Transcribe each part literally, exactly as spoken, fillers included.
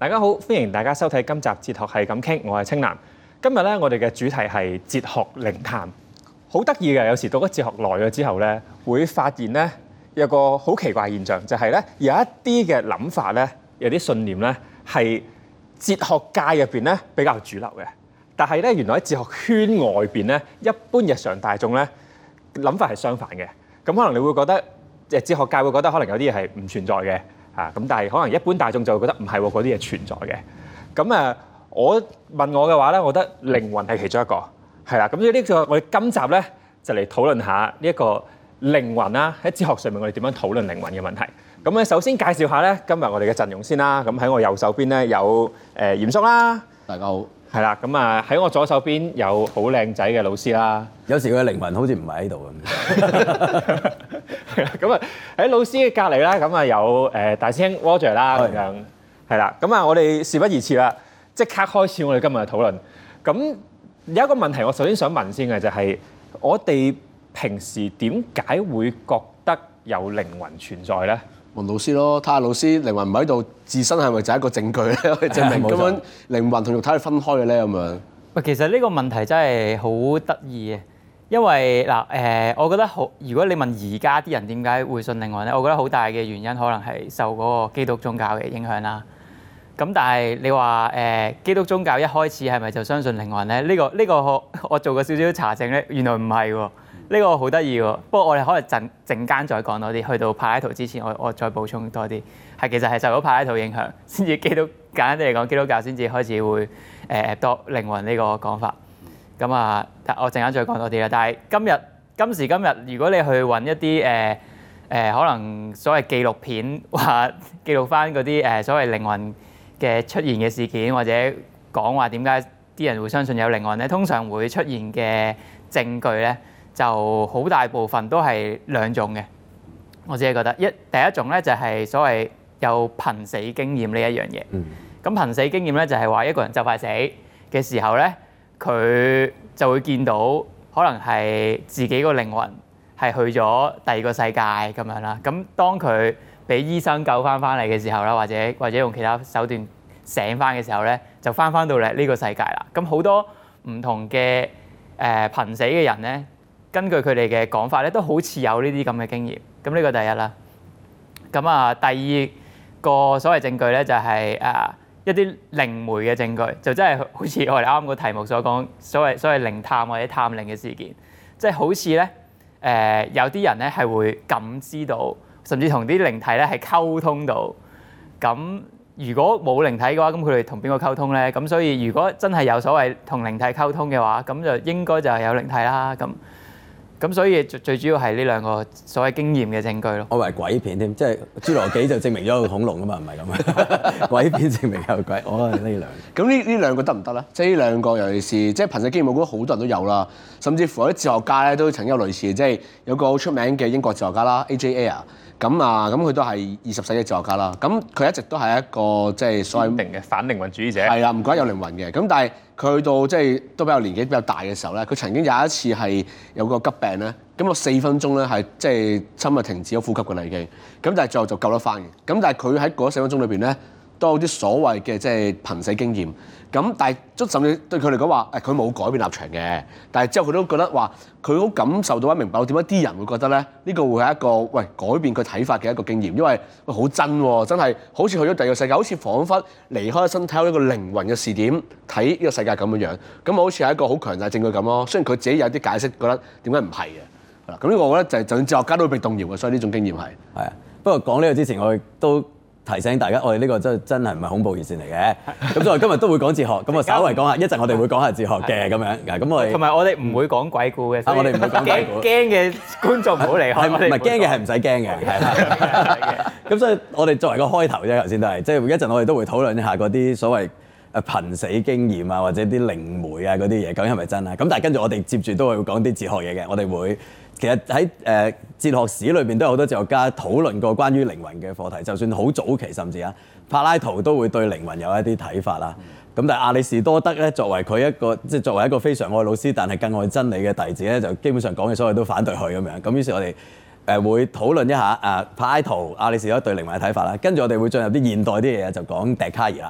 大家好，歡迎大家收睇今集哲學係咁傾，我係清楠。今日咧，我哋嘅主題係哲學靈談，好得意嘅。有時讀咗哲學耐咗之後咧，會發現咧有個好奇怪現象，就係咧有一啲嘅諗法咧，有啲信念咧係哲學界入邊咧比較主流嘅，但係咧原來喺哲學圈外邊咧，一般日常大眾咧諗法係相反嘅。咁可能你會覺得，誒哲學界會覺得可能有啲嘢係唔存在嘅。啊，咁但係可能一般大眾就會覺得唔係喎，嗰啲嘢存在嘅。咁啊，我問我嘅話咧，我覺得靈魂係其中一個，係啦。咁所以呢個我哋今集咧就嚟討論下呢一個靈魂啦。喺哲學上面，我哋點樣討論靈魂嘅問題？咁咧，首先介紹下咧今日我哋嘅陣容先啦。咁喺我右手邊咧有誒嚴叔啦， 大家好。 係啦，咁啊喺我左手邊有好靚仔嘅老師啦。 有時佢嘅靈魂好似唔係喺度咁。 咁啊喺老師嘅隔離啦，咁啊有誒大師兄 Roger 啦，咁樣係啦。咁啊我哋事不宜遲啦，即刻開始我哋今日嘅討論。咁有一個問題，我首先想問先嘅就係、是，我哋平時點解會覺得有靈魂存在咧？ 問老師咯，睇下老師靈魂唔喺度，自身係咪就係一個證據咧？可以證明咁樣靈魂同肉體係分開嘅咧？咁樣。 喂，其實呢個問題真係好得意嘅，因為嗱誒、呃，我覺得好。如果你問而家啲人點解會信靈魂咧，我覺得好大嘅原因可能係受嗰個基督宗教嘅影響啦。咁但係你話誒、呃、基督宗教一開始係咪就相信靈魂咧？呢、呢個呢、呢個我我做過少少查證咧，原來唔係喎。呢個好得意喎，不過我哋可能陣陣間再講多啲，去到柏拉圖之前，我我再補充多啲，係其實係受到柏拉圖影響，先至基督簡單啲嚟講，基督教先至開始會誒多靈魂呢個講法。咁啊，我陣間再講多啲啦。但係今日今時今日，如果你去揾一啲誒誒可能所謂紀錄片，話記錄翻嗰啲誒所謂靈魂嘅出現嘅事件，或者講話點解啲人會相信有靈魂咧，通常會出現嘅證據咧，就好大部分都係兩種嘅，我自己覺得一第一種咧就係所謂有瀕死經驗呢一樣嘢。咁、嗯、瀕死經驗咧就係話一個人就快死嘅時候咧，佢就會見到可能係自己個靈魂係去咗第二個世界咁樣啦。咁當佢俾醫生救翻翻嚟嘅時候啦，或者或者用其他手段醒翻嘅時候咧，就翻翻到嚟呢個世界啦。咁好多唔同嘅誒瀕死嘅人咧，根據佢哋嘅講法咧，都好似有呢啲咁嘅經驗。咁呢個第一啦。咁啊，第二個所謂證據咧，就係誒一啲靈媒嘅證據，就真係好似我哋啱啱個題目所講，所謂所謂靈探或者探靈嘅事件，即係好似咧誒有啲人咧係會感知到，甚至同啲靈體咧係溝通到。咁如果冇靈體嘅話，咁佢哋同邊個溝通咧？咁所以如果真係有所謂同靈體溝通嘅話，咁就應該就係有靈體啦。咁咁所以最最主要係呢兩個所謂經驗嘅證據咯。我以為鬼片添，即係侏羅紀就證明咗有恐龍啊嘛，唔係咁樣。鬼片證明有鬼，我係呢兩個。 咁呢呢兩個得唔得咧？即係呢兩個，尤其是即係瀕死經驗，我覺得好多人都有啦。甚至乎有啲哲學家咧都曾經有類似，即係有個好出名嘅英國哲學家啦 ，A J Ayer。咁啊，咁佢都係二十世紀哲學家啦。咁佢一直都係一個即係所謂定嘅反靈魂主義者。 係啦，唔覺得有靈魂嘅。咁但係佢去到即係都比較年紀比較大嘅時候咧，佢曾經有一次係有個急病咧，咁個四分鐘咧係即係差唔多停止咗呼吸㗎啦已經。咁但係最後就救得翻嘅。咁但係佢喺嗰四分鐘裏邊咧，都有啲所謂嘅即係瀕死經驗。咁但係都甚至對佢嚟講話，誒佢冇改變立場嘅。但係之後佢都覺得話，佢好感受到、明白到點解啲人會覺得咧，呢、呢個會係一個喂改變佢睇法嘅一個經驗，因為喂好真喎，真係好似去咗第二個世界，好似彷彿離開咗身體有一個靈魂嘅視點睇呢個世界咁樣樣。咁好似係一個好強大證據咁咯。雖然佢自己有啲解釋，覺得點解唔係嘅。係啦，咁呢個我覺得就係就算哲學家都會被動搖嘅，所以呢種經驗係係啊。不過講呢個之前，我亦都提醒大家，我哋呢個真真係唔係恐怖熱線嚟嘅。咁所以今日都會講哲學，咁我稍微講下，一陣我哋會講下哲學嘅咁樣。咁我哋同埋我哋唔會講鬼故嘅。 啊，我哋唔會講鬼故。 驚嘅觀眾唔好離開。 唔係驚嘅係唔使驚嘅，係啦。咁所以我哋作為個開頭啫，頭先都係，即係一陣我哋都會討論一下嗰啲所謂誒瀕死經驗啊，或者啲靈媒啊嗰啲嘢，究竟係咪真啊？咁但係跟住我哋接住都會講啲哲學嘢嘅，我哋會。其實喺誒哲學史裏邊都有好多哲學家討論過關於靈魂嘅課題，就算好早期甚至啊，柏拉圖都會對靈魂有一啲睇法啦。咁、嗯、但係亞里士多德咧，作為佢一個即係作為一個非常愛老師，但係更愛真理嘅弟子咧，就基本上講嘅所有都反對佢咁樣。咁於是我哋誒會討論一下誒柏拉圖、亞里士多德對靈魂嘅睇法啦。跟住我哋會進入啲現代啲嘢，就講笛卡爾啦。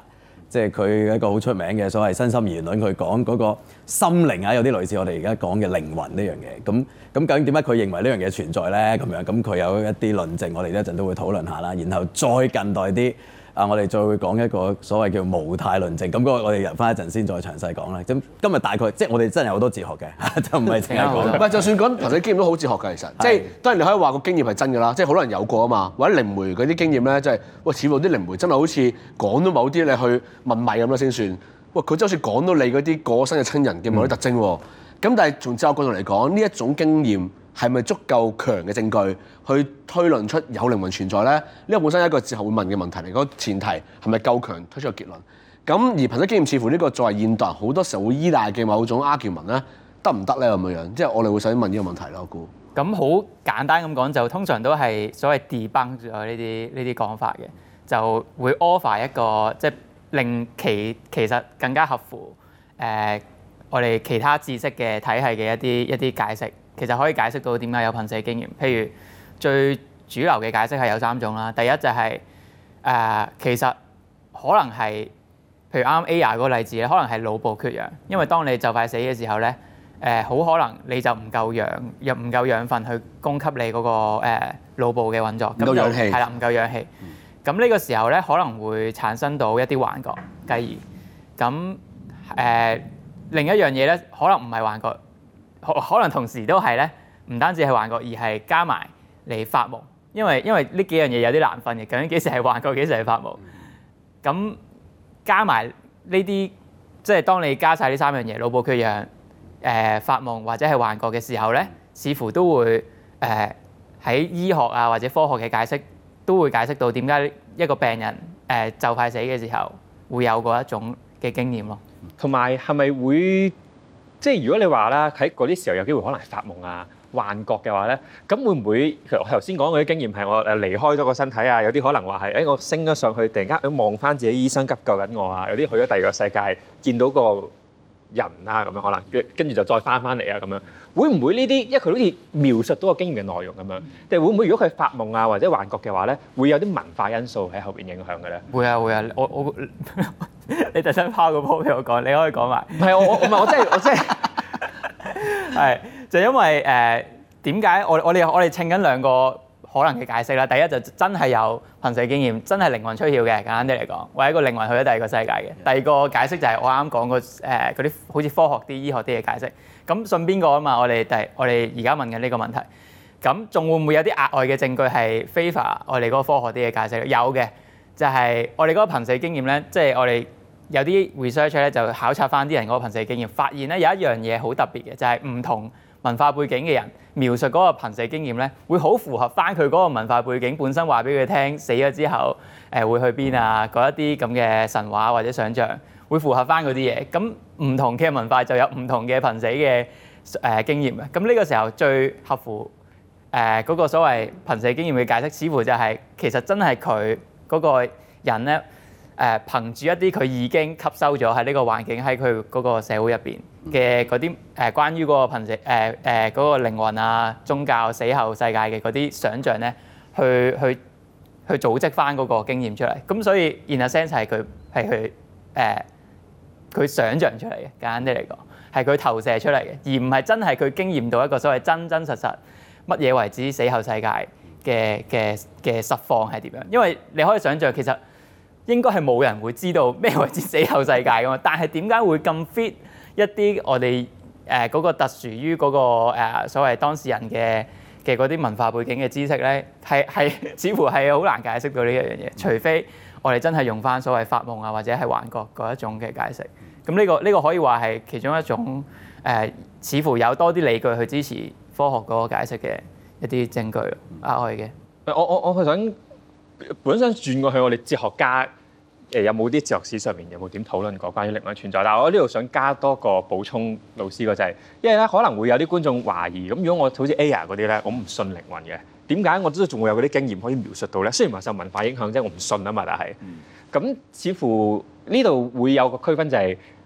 即係佢一個好出名嘅所謂身心言論，佢講嗰個心靈啊，有啲類似我哋而家講嘅靈魂呢樣嘢。咁咁究竟點解佢認為呢樣嘢存在咧？咁樣咁佢有一啲論證，我哋一陣都會討論下啦。然後再近代啲啊，我哋再會講一個所謂叫無態論證。咁嗰個我哋入翻一陣先再詳細講啦。咁今日大概即係我哋真係有好多哲學嘅，就唔係淨係講。 唔係，就算講憑死經驗都好哲學㗎，其實即係當然你可以話個經驗係真㗎啦，即係好多人有過啊嘛，或者靈媒嗰啲經驗咧，即係喂，似乎啲靈媒真係好似講到某啲你去問米咁樣先算。喂，佢真係好似講到你嗰啲過身嘅親人嘅某啲特徵喎。咁、嗯、但係從哲學角度嚟講，呢一種經驗係咪足夠強嘅證據去推論出有靈魂存在咧？呢、這個本身係一個哲學會問嘅問題嚟。嗰、那個前提係咪夠強推出個結論？咁而憑死經驗似乎呢個作為現代人好多時候會依賴嘅某種 argument 咧，得唔得咧咁樣樣？即係我哋會想問呢個問題咯，我估。 咁好簡單咁講，就通常都係所謂 debunk 咗呢啲呢啲講法嘅，就會 offer 一個即係令其其實更加合乎誒、呃、我哋其他知識嘅體系嘅一啲一啲解釋，其實可以解釋到點解有瀕死經驗。譬如最主流嘅解釋係有三種啦。第一就係、是、誒、呃、其實可能係譬如啱啱 Aya 嗰個例子咧，可能係腦部缺氧，因為當你就快死嘅時候咧，誒、呃、好可能你就唔夠氧，又唔夠養分去供給你嗰、那個誒、呃、腦部嘅運作， 唔夠氧氣， 係啦，唔夠氧氣。咁呢個時候咧，可能會產生到一啲幻覺，繼而咁誒、呃、另一樣嘢咧，可能唔係幻覺，可可能同時都係咧，唔單止係幻覺，而係加埋嚟發夢，因為因為呢幾樣嘢有啲難分嘅，究竟幾時係幻覺，幾時係發夢？咁加埋呢啲，即係當你加晒呢三樣嘢，腦部缺氧、誒、呃、發夢或者係幻覺嘅時候咧，似乎都會誒喺、呃、醫學啊或者科學嘅解釋。都會解釋到點解一個病人誒、呃、就快死嘅時候會有嗰一種嘅經驗咯。 同埋係咪會即係如果你話啦，喺嗰啲時候有機會可能係發夢啊、幻覺嘅話咧，咁會唔會其實我頭先講嗰啲經驗係我誒離開咗個身體啊？有啲可能話係誒我升咗上去，突然間望翻自己醫生急救緊我啊！有啲去咗第二個世界，見到個人啊咁樣可能跟跟住就再翻翻嚟啊咁樣，會唔會呢啲？因為佢好似描述到個經驗嘅內容咁樣，定係會唔會如果佢發夢啊或者幻覺嘅話咧，會有啲文化因素喺後邊影響嘅咧？ 會啊會啊，我我你特登拋個波俾我講，你可以講埋。 唔係我我唔係我真係我真係係就因為誒點解我我哋我哋稱緊兩個可能嘅解釋啦。第一就真係有瀕死經驗，真係靈魂出竅嘅，簡單啲嚟講，或者一個靈魂去咗第二個世界嘅。第二個解釋就係我啱啱講過誒嗰啲好似科學啲、醫學啲嘅解釋。咁信邊個啊嘛？我哋第我哋而家問緊呢個問題。咁仲會唔會有啲額外嘅證據係 favor 我哋嗰個科學啲嘅解釋？有嘅，就係、是、我哋嗰個瀕死經驗咧，即、就、係、是、我哋有啲 research 咧就考察翻啲人嗰個瀕死經驗，發現咧有一樣嘢好特別嘅，就係、是、唔同文化背景嘅人描述嗰個瀕死經驗咧，會好符合翻佢嗰個文化背景本身話俾佢聽死咗之後誒、呃、會去邊啊，嗰一啲咁嘅神話或者想像會符合翻嗰啲嘢。咁唔同嘅文化就有唔同嘅瀕死嘅誒、呃、經驗嘅。咁呢個時候最合乎誒嗰、呃那個所謂瀕死經驗嘅解釋，似乎就係、是、其實真係佢嗰個人咧。誒、呃、憑住一啲佢已經吸收咗喺呢個環境喺佢嗰個社會入邊嘅嗰啲誒關於嗰個瀕死誒誒嗰個靈魂啊、宗教死後世界嘅嗰啲想像咧，去去去組織翻嗰個經驗出嚟。咁所以 in a sense 係佢係佢誒佢想像出嚟嘅，簡單啲嚟講係佢投射出嚟嘅，而唔係真係佢經驗到一個所謂真真實實乜嘢為之死後世界嘅嘅嘅實況係點樣。因為你可以想像其實。應該係冇人會知道咩為之死後世界㗎嘛，但係點解會咁 fit 一啲我哋誒嗰個特殊於嗰、嗰個、呃、所謂當事人嘅嘅嗰啲文化背景嘅知識咧，係係似乎係好難解釋到呢一樣嘢，除非我哋真係用翻所謂發夢啊或者係幻覺嗰一種嘅解釋。咁呢、呢個呢、呢個可以話係其中一種誒、呃，似乎有多啲理據去支持科學嗰個解釋嘅一啲證據額外嘅。 我我我係想。本身轉過去，我哋哲學家誒有冇啲哲學史上面有冇點討論過關於靈魂存在？但係我呢度想加多個補充，老師個就係，因為咧可能會有啲觀眾懷疑，咁如果我好似 Aya 嗰啲咧，我唔信靈魂嘅，點解我都仲會有嗰啲經驗可以描述到咧？雖然話受文化影響啫，我唔信啊嘛，但係咁、嗯、似乎呢度會有個區分就係、是、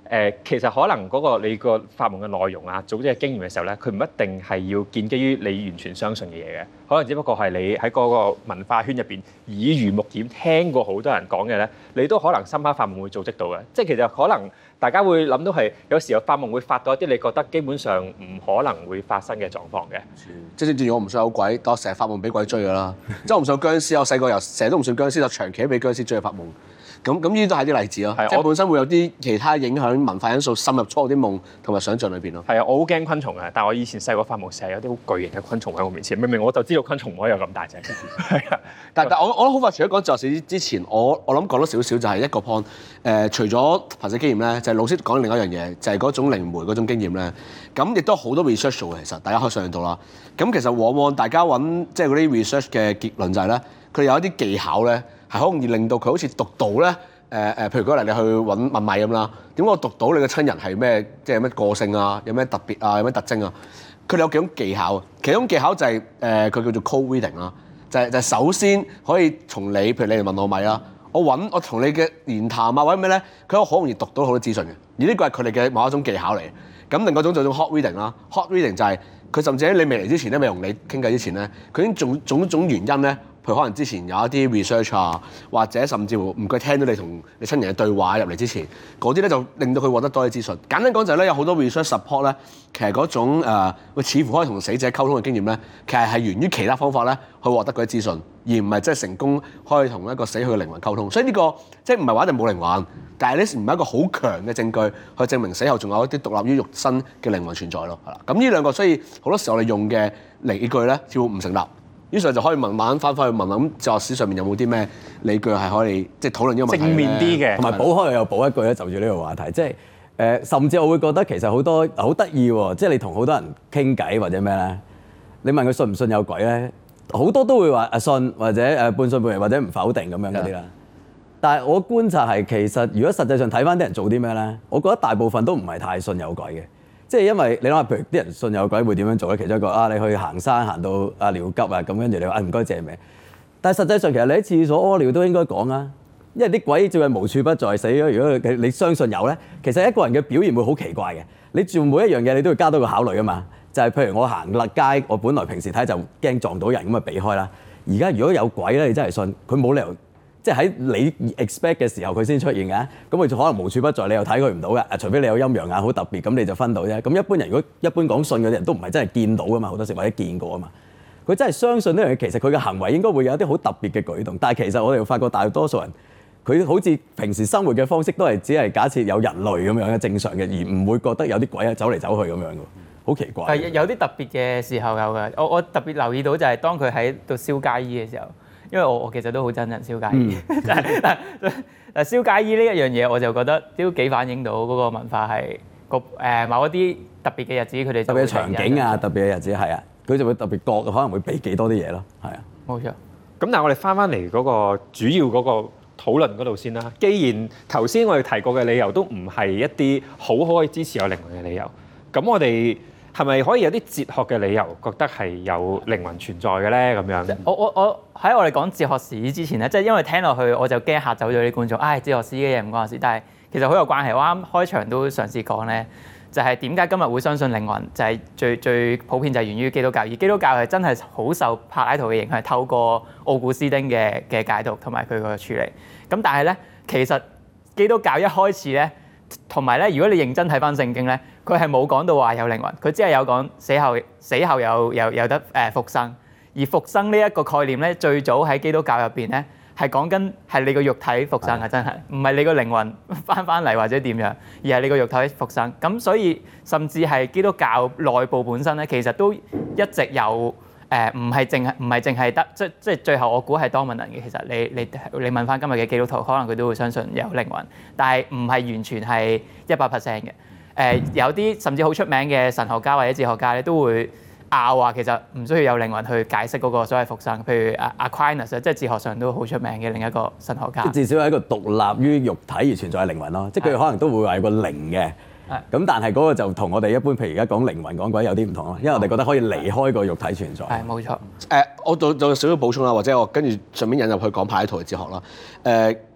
誒，其實可能嗰個你個發夢嘅內容啊，組織嘅經驗嘅時候咧，佢唔一定係要建基於你完全相信嘅嘢嘅，可能只不過係你喺嗰個文化圈入邊耳濡目染聽過好多人講嘅咧，你都可能深刻發夢會組織到嘅。即係其實可能大家會諗到係有時候發夢會發到一啲你覺得基本上唔可能會發生嘅狀況嘅。 即係正如我唔信有鬼，但我成日發夢俾鬼追㗎啦。即係我唔信僵屍，我細個由成日都唔信僵屍，就長期都俾僵屍追去發夢。咁咁呢啲都係啲例子咯，即係本身會有啲其他影響文化因素滲入咗我啲夢同埋想像裏邊咯。係啊，我好驚昆蟲嘅，但係我以前細個發夢成日有啲好巨型嘅昆蟲喺我面前，明明我就知道昆蟲唔可以有咁大隻。係啊，但但我我諗好快，除咗講哲學史之前，我我諗講多少少就係一個 point。誒、呃，除咗瀕死經驗咧，就係、是、老師講另一樣嘢，就係、是、嗰種靈媒嗰種經驗咧。咁亦都好多 research 做嘅，其實大家可以上到啦。咁其實往往大家揾即係嗰啲 research 嘅結論就係、是、咧，佢哋有一啲技巧咧，係好容易令到佢好似讀到咧。誒誒、呃，譬如嗰日你去揾問米咁啦，點解我讀到你嘅親人係咩？即係咩個性啊？有咩特別啊？有咩特徵啊？佢哋有幾種技巧，其中技巧就係、是、誒，佢、呃、叫做 cold reading 啦，就係、是、就係、是、首先可以從你，譬如你嚟問我米啦，我揾我同你嘅言談啊或者咩咧，佢好容易讀到好多資訊嘅，而呢個係佢哋嘅某一種技巧嚟。咁另外一種就係 hot reading 啦 ，hot reading 就係佢甚至喺你未嚟之前咧，未同你傾偈之前咧，佢已經種種種原因咧。譬如可能之前有一啲 research 啊，或者甚至乎唔該聽到你同你親人嘅對話入嚟之前，嗰啲咧就令到佢獲得多啲資訊。簡單講就係咧，有好多 research support 咧，其實嗰種誒、呃，似乎可以同死者溝通嘅經驗咧，其實係源於其他方法咧去獲得嗰啲資訊，而唔係即係成功可以同一個死去嘅靈魂溝通。所以呢、這個即係唔係話一定冇靈魂，但係呢唔係一個好強嘅證據去證明死後仲有一啲獨立於肉身嘅靈魂存在咯。係啦，咁呢兩個所以好多時候我哋用嘅理據咧，似乎唔成立。於是就可以慢慢翻返去問諗哲學史上面有冇啲咩理據係可以即係討論呢個問題正面啲嘅， 同埋補開又補一句咧，就住呢個話題，即係誒、呃，甚至我會覺得其實好多好得意喎，即係你同好多人傾偈或者咩咧，你問佢信唔信有鬼咧，好多都會話啊信或者誒半信半疑或者唔否定咁樣嗰啲啦。但係我觀察係其實如果實際上睇翻啲人做啲咩咧，我覺得大部分都唔係太信有鬼嘅。即係因為你諗下，譬如啲人信有鬼會點樣做咧？其中一個啊，你去行山行到啊尿急啊，咁跟住你話啊唔該借命。但係實際上其實你喺廁所屙尿都應該講啊，因為啲鬼照係無處不在死咗。如果你相信有咧，其實一個人嘅表現會好奇怪嘅。你做每一樣嘢你都要加多個考慮啊嘛。就係、是、譬如我行落街，我本來平時睇就驚撞到人咁啊避開啦。而家如果有鬼咧，你真係信佢冇理由。即係喺你 expect 嘅時候佢先出現嘅，咁佢就可能無處不在，你又睇佢唔到嘅。除非你有陰陽眼好特別，咁你就分到啫。咁一般人如果一般講信嗰啲人都唔係真係見到噶嘛，好多時或者見過啊嘛。佢真係相信呢樣嘢，其實佢嘅行為應該會有一啲好特別嘅舉動。但係其實我哋發覺大多數人，佢好似平時生活嘅方式都係只係假設有人類咁樣嘅正常嘅，而唔會覺得有啲鬼走嚟走去咁樣嘅，好奇怪。係有啲特別嘅時候有嘅，我我特別留意到就係當佢喺度燒街衣嘅時候。因為我我其實都好憎人燒街衣，嗯、但係但係燒街衣呢一樣嘢，我就覺得都幾反映到嗰個文化係個誒某一啲特別嘅日子，佢哋特別嘅場景啊，特別嘅日子係啊，佢就會特別覺可能會避幾多啲嘢咯，係啊，冇錯。咁但係我哋翻翻嚟嗰個主要嗰個討論嗰度先啦。既然頭先我哋提過嘅理由都唔係一啲好可以支持有靈魂嘅理由，咁我哋係咪可以有啲哲學嘅理由，覺得係有靈魂存在嘅咧？咁樣， 我我我喺我哋講哲學史之前咧，即係因為聽落去我就驚嚇走咗啲觀眾。唉，哲學史嘅嘢唔關我事，但係其實好有關係。我啱開場都嘗試講咧，就係點解今日會相信靈魂，就係最最普遍就係源於基督教，而基督教係真係好受柏拉圖嘅影響，透過奧古斯丁嘅嘅解讀同埋佢個處理。咁但係咧，其實基督教一開始咧。同埋咧，如果你認真睇翻聖經咧，佢係冇講到話有靈魂，佢只係有講死後死後有有有得誒復生。而復生呢一個概念咧，最早喺基督教入邊咧係講緊係你個肉體復生嘅，真係唔係你個靈魂翻翻嚟或者點樣，而係你個肉體復生。咁所以甚至係基督教內部本身咧，其實都一直有。誒唔係淨係唔係淨係得即即最後我估係多問人嘅。其實你你你問翻今日嘅基督徒，可能佢都會相信有靈魂，但係唔係完全係一百 percent 嘅。誒、呃、有啲甚至好出名嘅神學家或者哲學家咧，都會拗話其實唔需要有靈魂去解釋嗰個所謂復生。譬如阿 Aquinas 即係哲學上都好出名嘅另一個神學家。至少係一個獨立於肉體而存在嘅靈魂咯，即係佢可能都會話有個靈嘅。咁但係嗰個就同我哋一般譬如而家講靈魂講鬼有啲唔同咯，因為我哋覺得可以離開個肉體存在。係冇錯。誒、呃，我做做少少補充啦，或者我跟住順便引入去講柏拉圖嘅哲學啦。誒、呃，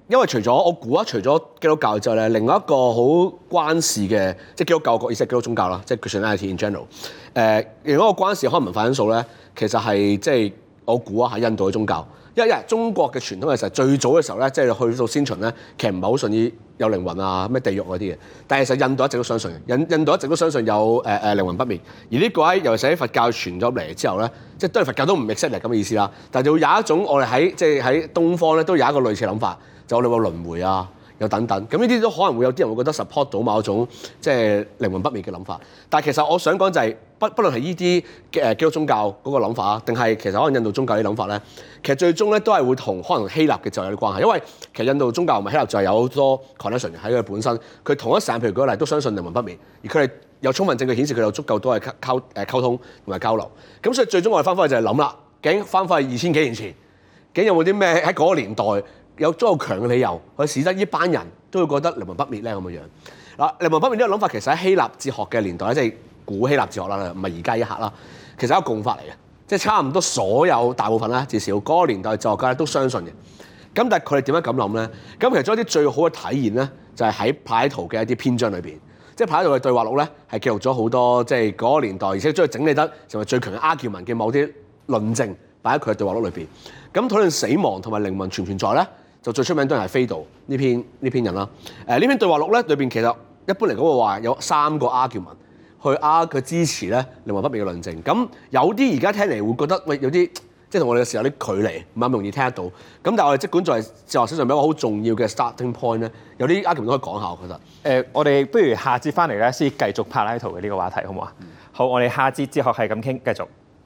因為除咗我估啊，除咗基督教之後咧，另外一個好關事嘅，即係基督教國，意思係基督宗教啦，即係 Christianity in general。誒，另外一個關事可能文化因素咧，其實係即係我估啊，喺印度嘅宗教。因為中國嘅傳統嘅時候，最早嘅時候咧，即係去到先秦咧，其實唔係好信於有靈魂啊、咩地獄嗰啲嘅。但係其實印度一直都相信嘅，印印度一直都相信有誒誒、呃、靈魂不滅。而呢個喺尤其是喺佛教傳咗嚟之後咧，即係當然佛教都唔 accept 咁嘅意思啦。但係就會有一種我哋喺即係喺東方咧，都有一個類似嘅諗法，就我哋話輪迴啊。有等等，咁呢啲都可能會有啲人會覺得 support 到某一種即係靈魂不滅嘅諗法。但係其實我想講就係、是，不不論係呢啲嘅基督宗教嗰個諗法啊，定係其實可能印度宗教啲諗法咧，其實最終咧都係會同可能希臘嘅就有啲關係。因為其實印度宗教同埋希臘就係有好多 connection 喺佢本身，佢同一時間譬如舉個例都相信靈魂不滅，而佢哋有充分證據顯示佢有足夠多嘅溝誒溝通同埋交流。咁所以最終我哋翻返去就係諗啦，究竟翻返去二千幾年前，究竟有冇啲咩喺嗰個年代有足夠強嘅理由去使得呢班人都會覺得靈魂不滅咧咁嘅樣？嗱，靈魂不滅呢個諗法其實喺希臘哲學嘅年代咧，即係古希臘哲學啦，唔係而家一刻啦，其實係一個共法嚟嘅，即係差唔多所有大部分啦，至少嗰個年代哲學家都相信嘅。咁但係佢哋點樣咁諗咧？咁其實將一啲最好嘅體現咧，就係喺柏拉圖嘅一啲篇章裏邊，即係柏拉圖嘅對話錄咧，係記錄咗好多即係嗰個年代，而且將佢整理得成為最強嘅 argument 嘅某啲論證擺喺佢嘅對話錄裏邊。咁討論死亡同埋靈魂存唔存在咧？就最出名都係斐多呢篇呢篇人啦。誒呢篇對話錄咧裏邊其實一般嚟講會話有三個 argument 去 argue 佢支持咧靈魂不滅嘅論證。咁有啲而家聽嚟會覺得喂有啲即係同我哋嘅時候有啲距離，唔係咁容易聽得到。咁但係我哋即管在哲學史上面一個好重要嘅 starting point 咧，有啲 argument 都可以講下，我覺得。誒、 呃，我哋不如下節翻嚟咧先繼續柏拉圖嘅呢個話題，好唔好啊？嗯、好，我哋下節哲學係咁傾，繼續。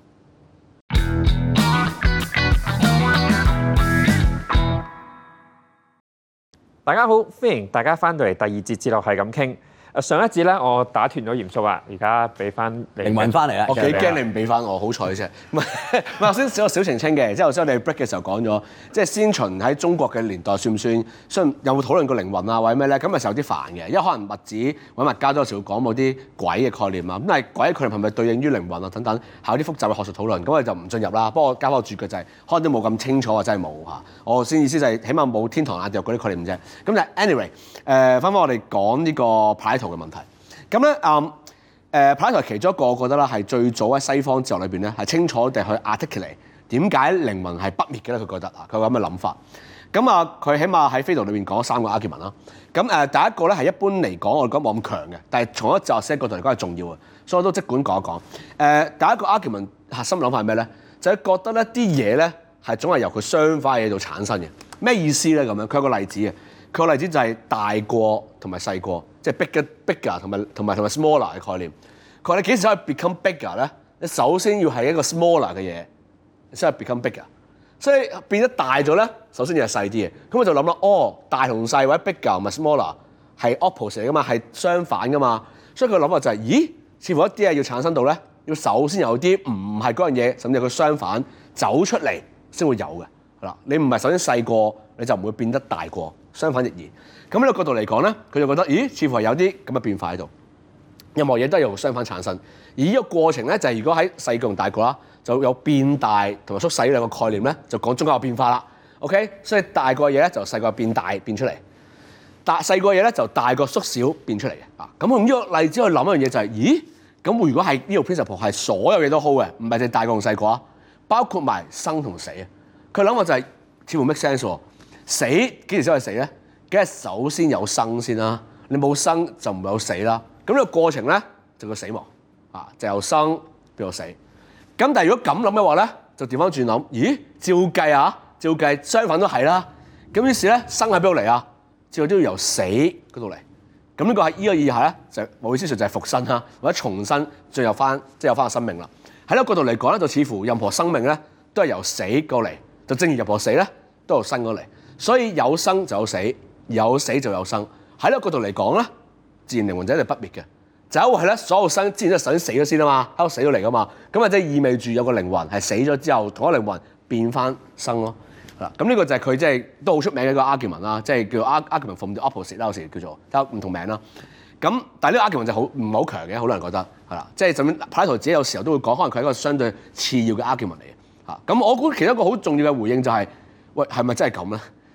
大家好，歡迎大家翻到嚟第二節哲學係咁傾。誒上一節咧，我打斷咗鹽叔啊，而家俾翻靈魂翻嚟啦。 我幾驚你唔俾翻我，好彩啫。唔係唔係，頭先少個小澄清嘅，即係頭先我哋 break 嘅時候講咗，即係先秦喺中國嘅年代算唔算？雖然有冇討論過靈魂啊或者咩咧？咁咪有啲煩嘅，因為可能物子揾物家都有時會講某啲鬼嘅概念啊。咁但係鬼嘅概念係咪對應於靈魂啊等等，係有啲複雜嘅學術討論。咁我哋就唔進入啦。不過加翻個注腳就係、是，可能都冇咁清楚啊，真係冇嚇。我先意思就係、是，起碼冇天堂、地獄嗰啲概念啫。咁但係 anyway，誒翻返我哋講呢個柏拉圖嘅問題。咁咧，誒誒柏拉圖其中一個，我覺得啦，係最早喺西方哲學裏邊咧，係清楚地去 articulate 點解靈魂係不滅嘅咧？佢覺得啊，佢有咁嘅諗法。咁啊，佢起碼喺斐多裏邊講咗三個 argument 啦。咁誒，第一個咧係一般嚟講，我哋講冇咁強嘅，但係從一哲學史角度嚟講係重要嘅，所以我都即管講一講。誒，第一個 argument 核心諗法係咩咧？就係、是、覺得咧啲嘢咧係總係由佢相反嘅嘢度產生嘅。咩意思咧？咁樣佢有個例子嘅，佢個例子就係大過同埋細過。即係 bigger、bigger 同埋同埋同埋 smaller 嘅概念。佢話你幾時可以 become bigger 咧？你首先要係一個 smaller 嘅嘢，先係 become bigger。所以變得大咗咧，首先要係細啲嘅。咁我就諗啦，哦，大同細或者 bigger 同埋 smaller 係 opposite 嚟噶嘛，係相反噶嘛。所以佢諗法就係、是，咦？似乎一啲嘢要產生到咧，要首先有啲唔係嗰樣嘢，甚至佢相反走出嚟先會有嘅。係啦，你唔係首先細過，你就唔會變得大過，相反亦然。咁呢個角度嚟講咧，佢就覺得，咦，似乎係有啲咁嘅變化喺度。任何嘢都係由相反產生，而呢個過程咧，就係、是、如果喺細個同大個啦，就有變大同埋縮細兩個概念咧，就講中間有變化啦。OK，所以大個嘢咧就細個變大變出嚟，大細個嘢咧就大個縮小變出嚟嘅。啊，咁用呢個例子去諗一樣嘢就係、是，咦，咁如果係呢個 principle 係所有嘢都好嘅，唔係淨係大個同細個啊，包括埋生同死啊。佢諗法就係、是、似乎 make sense 喎。死幾時先係死咧？梗係首先有生先啦，你冇生就唔會有死啦。咁呢個過程咧就叫死亡啊，就由生變到死。咁但係如果咁諗嘅話咧，就調翻轉諗，咦？照計啊，照計相反都係啦。咁於是咧，生喺邊度嚟啊？最後都要由死嗰度嚟。咁呢個喺呢個意義下咧，就某意思上就係復生啦，或者重新進入翻，即係有翻個生命啦。喺呢個角度嚟講咧，就似乎任何生命咧都係由死過嚟，就正如任何死咧都由生過嚟。所以有生就有死。有死就有生，喺呢個角度嚟講咧，自然靈魂就一定不滅嘅。就係係咧，所有生之前都係首先死咗先啊嘛，喺度死咗嚟噶嘛，咁啊即係意味住有個靈魂係死咗之後，同一個靈魂變翻生咯。嗱，咁呢個就係佢即係都好出名嘅一個 argument 啦，即係叫 argument from the opposite 啦，有時叫做有唔同名啦。咁但係呢個 argument 就好唔係好強嘅，好多人覺得係啦，即係甚至柏拉圖自己有時候都會講，可能佢係一個相對次要嘅 argument 嚟嘅。嚇，咁我估其中一個好重要嘅回應就係、是，喂，係咪真係咁咧？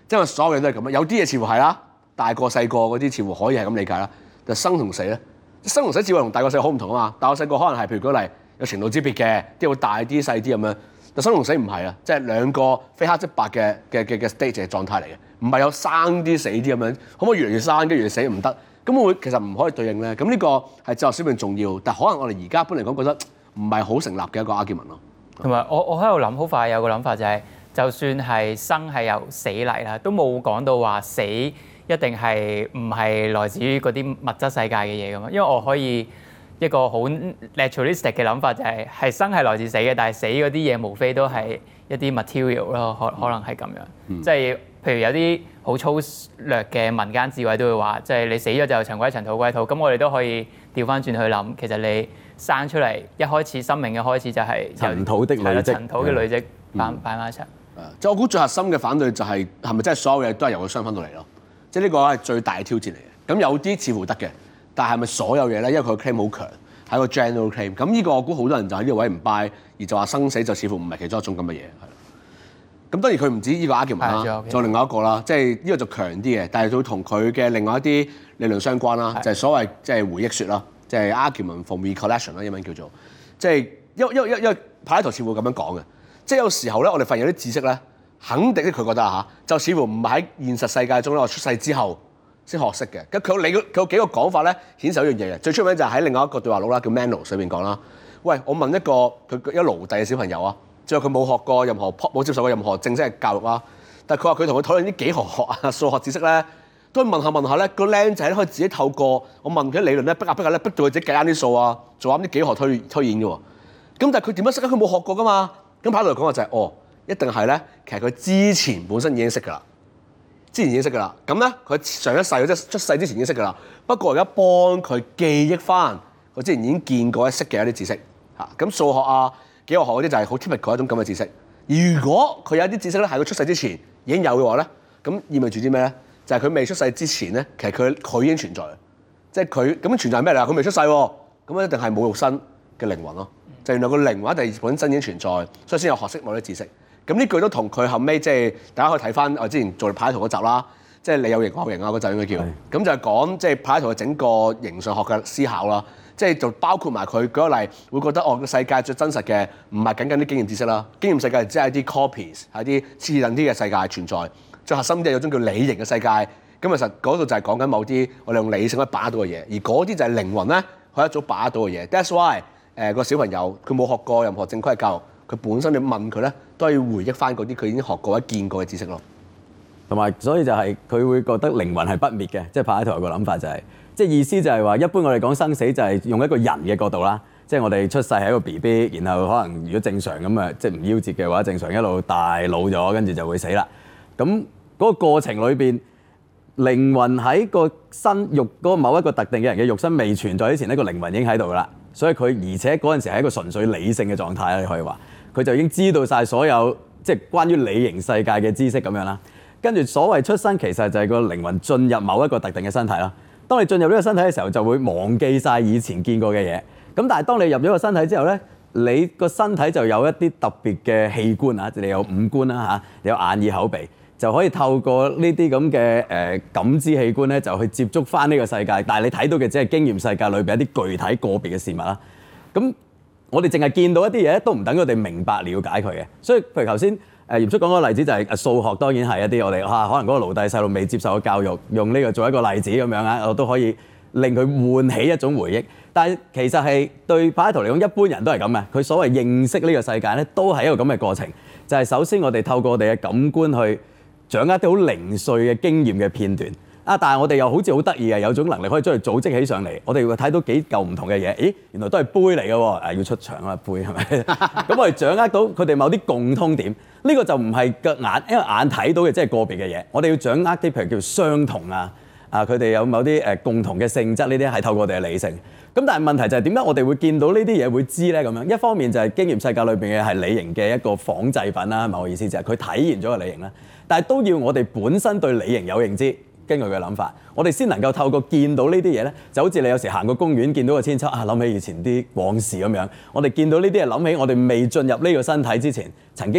即係所有嘢都係咁啦。有啲嘢似乎係啦，大個細個嗰啲似乎可以係咁理解啦。但係生同死咧，生同死似乎同大個細個好唔同啊嘛。大個細個可能係譬如舉例有程度之別嘅，啲會大啲細啲咁樣。但生同死唔係啊，即係兩個非黑即白嘅嘅嘅嘅 stage 嘅狀態嚟嘅，唔係有生啲死啲咁樣。可唔可以越嚟越生，跟住越嚟越死唔得？咁會其實唔可以對應咧。咁呢個係哲學小便重要，但可能我哋而家一般嚟講覺得唔係好成立嘅一個 argument 咯。同埋我我喺度諗，好快有個諗法就係、是，就算係生係由死嚟啦，都冇講到話死一定係唔係來自於嗰啲物質世界嘅嘢咁嘛。因為我可以一個好 naturalistic 嘅諗法就係、是，係生係來自死嘅，但係死嗰啲嘢無非都係一啲 material 咯，可可能係咁樣。嗯、即係譬如有啲好粗略嘅民間智慧都會話，即係你死咗就塵歸塵土歸土。咁我哋都可以調翻轉去諗，其實你生出嚟一開始生命嘅開始就係塵土的累積， 塵土嘅累積擺擺埋一齊。 即係我估最核心嘅反對就係係咪真係所有嘢都係由個雙分到嚟咯？即係呢個係最大嘅挑戰嚟嘅。咁有啲似乎得嘅，但係咪所有嘢咧？因為佢 claim 好強，係一個 general claim。咁呢個我估好多人就喺呢個位唔 buy，而就話生死就似乎唔係其中一種咁嘅嘢。咁當然佢唔止呢個 argument 啦，仲有另外一個啦，即係呢個就強啲嘅，但係會同佢嘅另外一啲理論相關啦，就係所謂即係回憶説啦，即係 argument from recollection 啦，英文叫做，即係因因因因柏拉圖似乎咁樣講嘅，即係有時候咧，我哋發現有啲知識咧，肯定佢覺得嚇，就似乎唔係喺現實世界中咧，我出世之後先學識嘅。咁佢有你佢有幾個講法咧，顯示一樣嘢嘅。最出名就係喺另外一個對話錄啦，叫 Manos 裏邊講啦。喂，我問一個佢一個奴隸嘅小朋友啊。最後佢冇學過任何冇接受過任何正式嘅教育啦，但係佢話佢同佢討論啲幾何學啊、數學知識咧，都問下問下咧，個僆仔咧可以自己透過我問佢啲理論咧，逼下逼下咧，逼到佢自己計啱啲數啊，做啱啲幾何推推演嘅喎。咁但係佢點樣識咧？佢冇學過噶嘛。咁柏拉圖講話就係、是、哦，一定係咧，其實佢之前本身已經識㗎啦，之前已經識㗎啦。咁咧佢上一世即係出世之前已經識㗎啦。不過而家幫佢記憶翻佢之前已經見過一識嘅一啲知識嚇。咁數學啊。幾何學嗰啲就係好 typical 一種咁嘅知識。如果佢有啲知識咧，喺佢出世之前已經有嘅話咧，咁意味住啲咩咧？就係、是、佢未出世之前咧，其實佢佢已經存在，即係佢咁存在係咩嚟啊？佢未出世喎，咁一定係冇肉身嘅靈魂咯。就原來個靈魂一定本身已經存在，所以先有學識某啲知識。咁呢句都同佢後尾即係大家可以睇翻我之前做柏拉圖嗰集啦，即係你有形我有形啊嗰集應該叫。咁就係講即係柏拉圖嘅整個形上學嘅思考啦。即係就包括埋佢舉個例，會覺得哦個世界最真實嘅唔係僅僅啲經驗知識啦，經驗世界只係啲 copies，係啲次等啲嘅世界存在。最核心啲係有種叫理型嘅世界，咁其實嗰度就係講緊某啲我哋用理性可以把握到嘅嘢，而嗰啲就係靈魂咧，佢一早把握到嘅嘢。That's why 誒、呃、個小朋友佢冇學過任何正規嘅教育，佢本身你問佢咧都係要回憶翻嗰啲佢已經學過或者見過嘅知識咯。 同埋所以就係佢會覺得靈魂係不滅嘅，即係柏拉圖有個諗法就係、是。即係意思就係話，一般我哋講生死就係用一個人嘅角度啦。即係我哋出世係一個 B B，然後可能如果正常咁啊，即係唔夭折嘅話，正常一路大老咗，跟住就會死啦。咁嗰個過程裏邊，靈魂喺個身肉嗰某一個特定嘅人嘅肉身未存在之前，呢個靈魂已經喺度㗎啦。所以佢而且嗰陣時係一個純粹理性嘅狀態啦，你可以話佢就已經知道晒所有即係關於理型世界嘅知識咁樣啦。跟住所謂出生，其實就係個靈魂進入某一個特定嘅身體啦。當你進入呢個身體嘅時候，就會忘記晒以前見過嘅嘢。咁但係當你入咗個身體之後咧，你個身體就有一啲特別嘅器官啊，你有五官啦嚇，你有眼耳口鼻，就可以透過呢啲咁嘅誒感知器官咧，就去接觸翻呢個世界。但係你睇到嘅只係經驗世界裏邊一啲具體個別嘅事物啦。咁我哋淨係見到一啲嘢，都唔等佢哋明白了解佢嘅。所以譬如頭先。誒嚴叔講嗰個例子就係誒數學，當然係一啲我哋嚇、啊、可能嗰個奴隸細路未接受過教育，用呢個做一個例子咁樣啊，我都可以令佢喚起一種回憶。但係其實係對柏拉圖嚟講，一般人都係咁嘅。佢所謂認識呢個世界咧，都係一個咁嘅過程。就係、是、首先我哋透過我哋嘅感官去掌握啲好零碎嘅經驗嘅片段啊，但係我哋又好似好得意嘅，有種能力可以將佢組織起上嚟。我哋會睇到幾嚿唔同嘅嘢，咦，原來都係杯嚟嘅喎，誒要出場啊杯係咪？咁我哋掌握到佢哋某啲共通點。呢個就唔係個眼，因為眼睇到嘅即係個別嘅嘢。我哋要掌握啲譬如叫相同啊，啊佢哋有某啲誒共同嘅性質，呢啲係透過我哋嘅理性。咁但係問題就係點解我哋會見到呢啲嘢會知咧？咁樣一方面就係經驗世界裏邊嘅係理型嘅一個仿製品啦，某個意思就係佢體現咗個理型啦。但係都要我哋本身對理型有認知，根據佢嘅諗法，我哋先能夠透過見到呢啲嘢咧，就好似你有時行過公園見到個千秋啊，諗起以前啲往事咁樣。我哋見到呢啲係諗起我哋未進入呢個身體之前曾經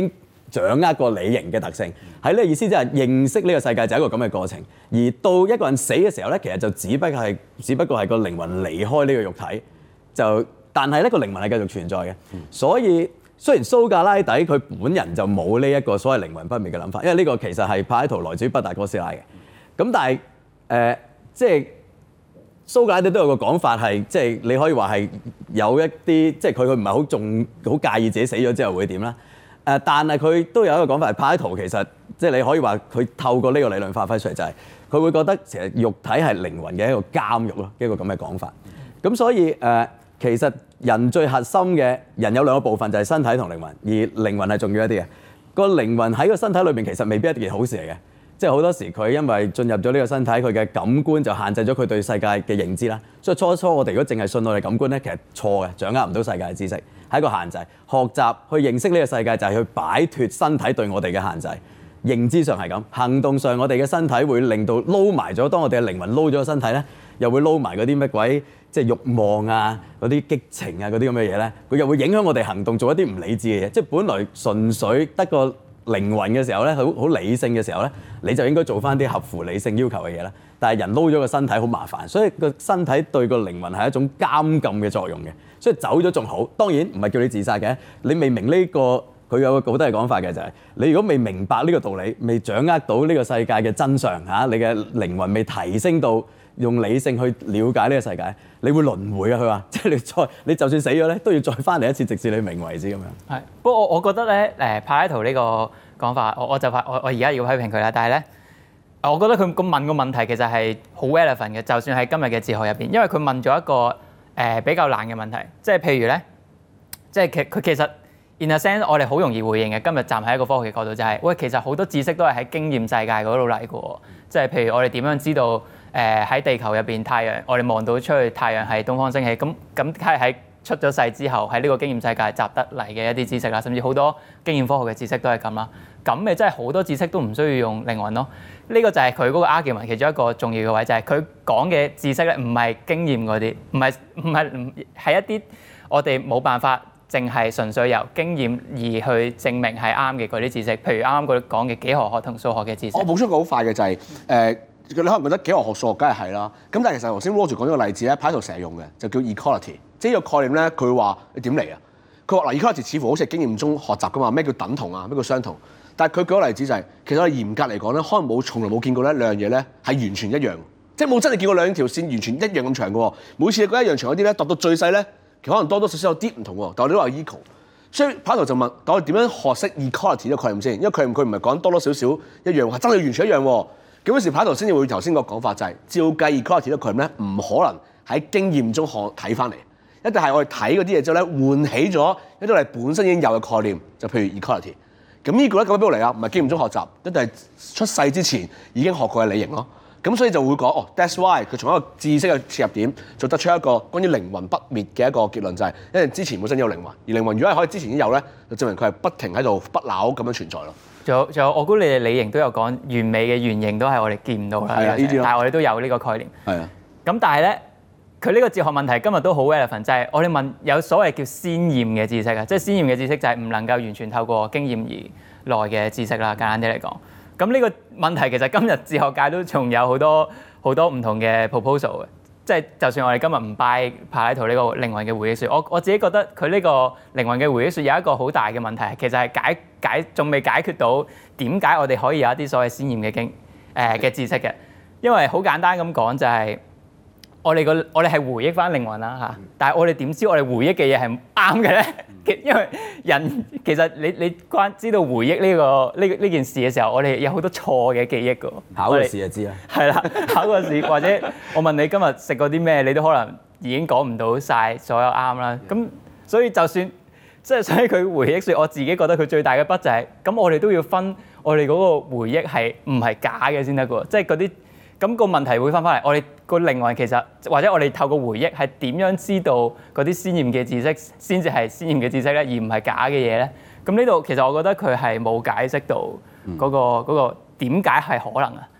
掌握個理型嘅特性。喺呢個意思即係認識呢個世界就係一個咁嘅過程。而到一個人死嘅時候咧，其實就只不過係只不過係個靈魂離開呢個肉體，就但係呢個靈魂係繼續存在嘅。所以雖然蘇格拉底佢本人就冇呢一個所謂靈魂不滅嘅諗法，因為呢個其實係柏拉圖來自於畢達哥斯拉嘅。咁但係誒、呃、即係。蘇格拉底都有個講法係，即係你可以話係有一啲，即係佢佢唔係好重好介意自己死咗之後會點啦。誒，但係佢都有一個講法係，柏拉圖其實即係你可以話佢透過呢個理論發揮出嚟，就係佢會覺得其實肉體係靈魂嘅一個監獄咯，一個咁嘅講法。咁所以誒、呃，其實人最核心嘅人有兩個部分，就係身體同靈魂，而靈魂係重要一啲嘅。個靈魂喺個身體裏邊其實未必係一件好事嚟嘅。即係好多時佢因為進入咗呢個身體，佢嘅感官就限制咗佢對世界嘅認知啦。所以初初我哋如果淨係信我哋感官咧，其實錯嘅，掌握唔到世界嘅知識，係一個限制。學習去認識呢個世界就係去擺脫身體對我哋嘅限制。認知上係咁，行動上我哋嘅身體會令到撈埋咗。當我哋嘅靈魂撈咗個身體咧，又會撈埋嗰啲乜鬼即係慾望啊、嗰啲激情啊、嗰啲咁嘅嘢咧，佢又會影響我哋行動，做一啲唔理智嘅嘢。即係本來純粹得個靈魂嘅時候咧，好好理性嘅時候咧，你就應該做翻啲合乎理性要求嘅嘢啦。但係人撈咗個身體好麻煩，所以個身體對個靈魂係一種監禁嘅作用嘅。所以走咗仲好，當然唔係叫你自殺嘅。你未明呢個，佢有個好多嘅講法嘅就係，你如果未明白呢個道理，未掌握到呢個世界嘅真相嚇，你嘅靈魂未提升到用理性去了解呢個世界，你會輪迴啊！佢話，即係你再你就算死咗咧，都要再翻嚟一次，直至你明為止咁樣。係， 不過我我覺得咧，誒柏拉圖呢個講法，我我就發我我而家要批評佢啦。但係咧，我覺得佢咁問個問題其實係好 relevant 嘅，就算喺今日嘅哲學入邊，因為佢問咗一個誒、呃、比較難嘅問題，即係譬如咧，即係其佢其實 in a sense 我哋好容易回應嘅。今日站喺一個科學嘅角度就係、是，喂，其實好多知識都係喺經驗世界嗰度嚟嘅喎，即係譬如我哋點樣知道？誒喺、呃、地球入邊，太陽我哋望到出去，太陽係東方升起。咁咁係喺出咗世之後，喺呢個經驗世界集得嚟嘅一啲知識啦，甚至好多經驗科學嘅知識都係咁啦。咁咪真係好多知識都唔需要用靈魂咯。呢、這個就係佢嗰個 argument 其中一個重要嘅位，就係佢講嘅知識咧，唔係經驗嗰啲，唔係唔係唔係一啲我哋冇辦法淨係純粹由經驗而去證明係啱嘅嗰啲知識。譬如啱啱佢講嘅幾何學同數學嘅知識。我補充個好快嘅就係、是、誒。呃你可能覺得幾何學數學梗係係啦，咁但係其實頭先 Roger 講咗個例子咧，柏拉圖成日用嘅就叫 equality，即係呢個概念咧，佢話你點嚟啊？佢話嗱 equality 似乎好似係經驗中學習噶嘛，咩叫等同啊？咩叫相同？但係佢舉個例子就係、是，其實我哋嚴格嚟講咧，可能冇從來冇見過咧兩樣嘢咧係完全一樣，即係冇真係見過兩條線完全一樣咁長嘅喎。每次你覺得一樣長嗰啲咧，度到最細咧，其實可能多多少少有啲唔同喎，但係我哋都話 equal。所以柏拉圖就問：我哋點樣學識 equality 呢個概念先？因為佢佢唔係講多多少少一樣，係真係完全一樣喎。咁嗰時柏拉圖先至會頭先個講法就係、是，照計 equality 呢個概念咧，唔可能喺經驗中學睇翻嚟，一定係我哋睇嗰啲嘢之後咧，喚起咗一啲我哋本身已經有嘅概念，就譬如 equality。咁呢個咧，咁邊度嚟啊？唔係經驗中學習，一定係出世之前已經學過嘅理型咯。咁所以就會講哦 ，that's why 佢從一個知識嘅切入點，就得出一個關於靈魂不滅嘅一個結論，就係、是、因為之前本身有靈魂，而靈魂如果係可以之前已經有咧，就證明佢係不停喺度不朽咁樣存在咯。仲有仲有，我估你哋理型都有講完美嘅原型都係我哋見唔到啦， 係啊，呢啲咯。 但係我哋都有呢個概念。 係啊。 咁但係咧，佢呢個哲學問題今日都好 relevant，就係我哋問有所謂叫先驗嘅知識啊，即係先驗嘅知識就係唔能夠完全透過經驗而來嘅知識啦。簡單啲嚟講，咁呢個問題其實今日哲學界都仲有好多好多唔同嘅 proposal 嘅。即係就算我哋今日唔 buy 柏拉圖呢個靈魂嘅回憶説，我我自己覺得佢呢個靈魂嘅回憶説有一個好大嘅問題，其實係解解仲未解決到點解我哋可以有一啲所謂先驗嘅經誒嘅知識嘅，因為好簡單咁講就係、是、我哋個我哋係回憶翻靈魂啦嚇，但係我哋點知我哋回憶嘅嘢係啱嘅咧？因為人其實你你關知道回憶呢、這個呢呢件事嘅時候，我哋有好多錯嘅記憶㗎。 考個試就知啦。 係啦，考個試或者我問你今日食過啲咩，你都可能已經講唔到晒所有啱啦。咁所以就算即係所以佢回憶説，我自己覺得佢最大嘅筆就係、是、咁，我哋都要分我哋嗰個回憶係唔係假嘅先得㗎。即係嗰啲咁個問題會翻返嚟，我哋個靈魂其實或者我哋透過回憶係點樣知道嗰啲先驗嘅知識先至係先驗嘅知識咧，而唔係假嘅嘢咧？咁呢度其實我覺得佢係冇解釋到嗰、嗰個嗰、嗯嗰個點解係可能啊？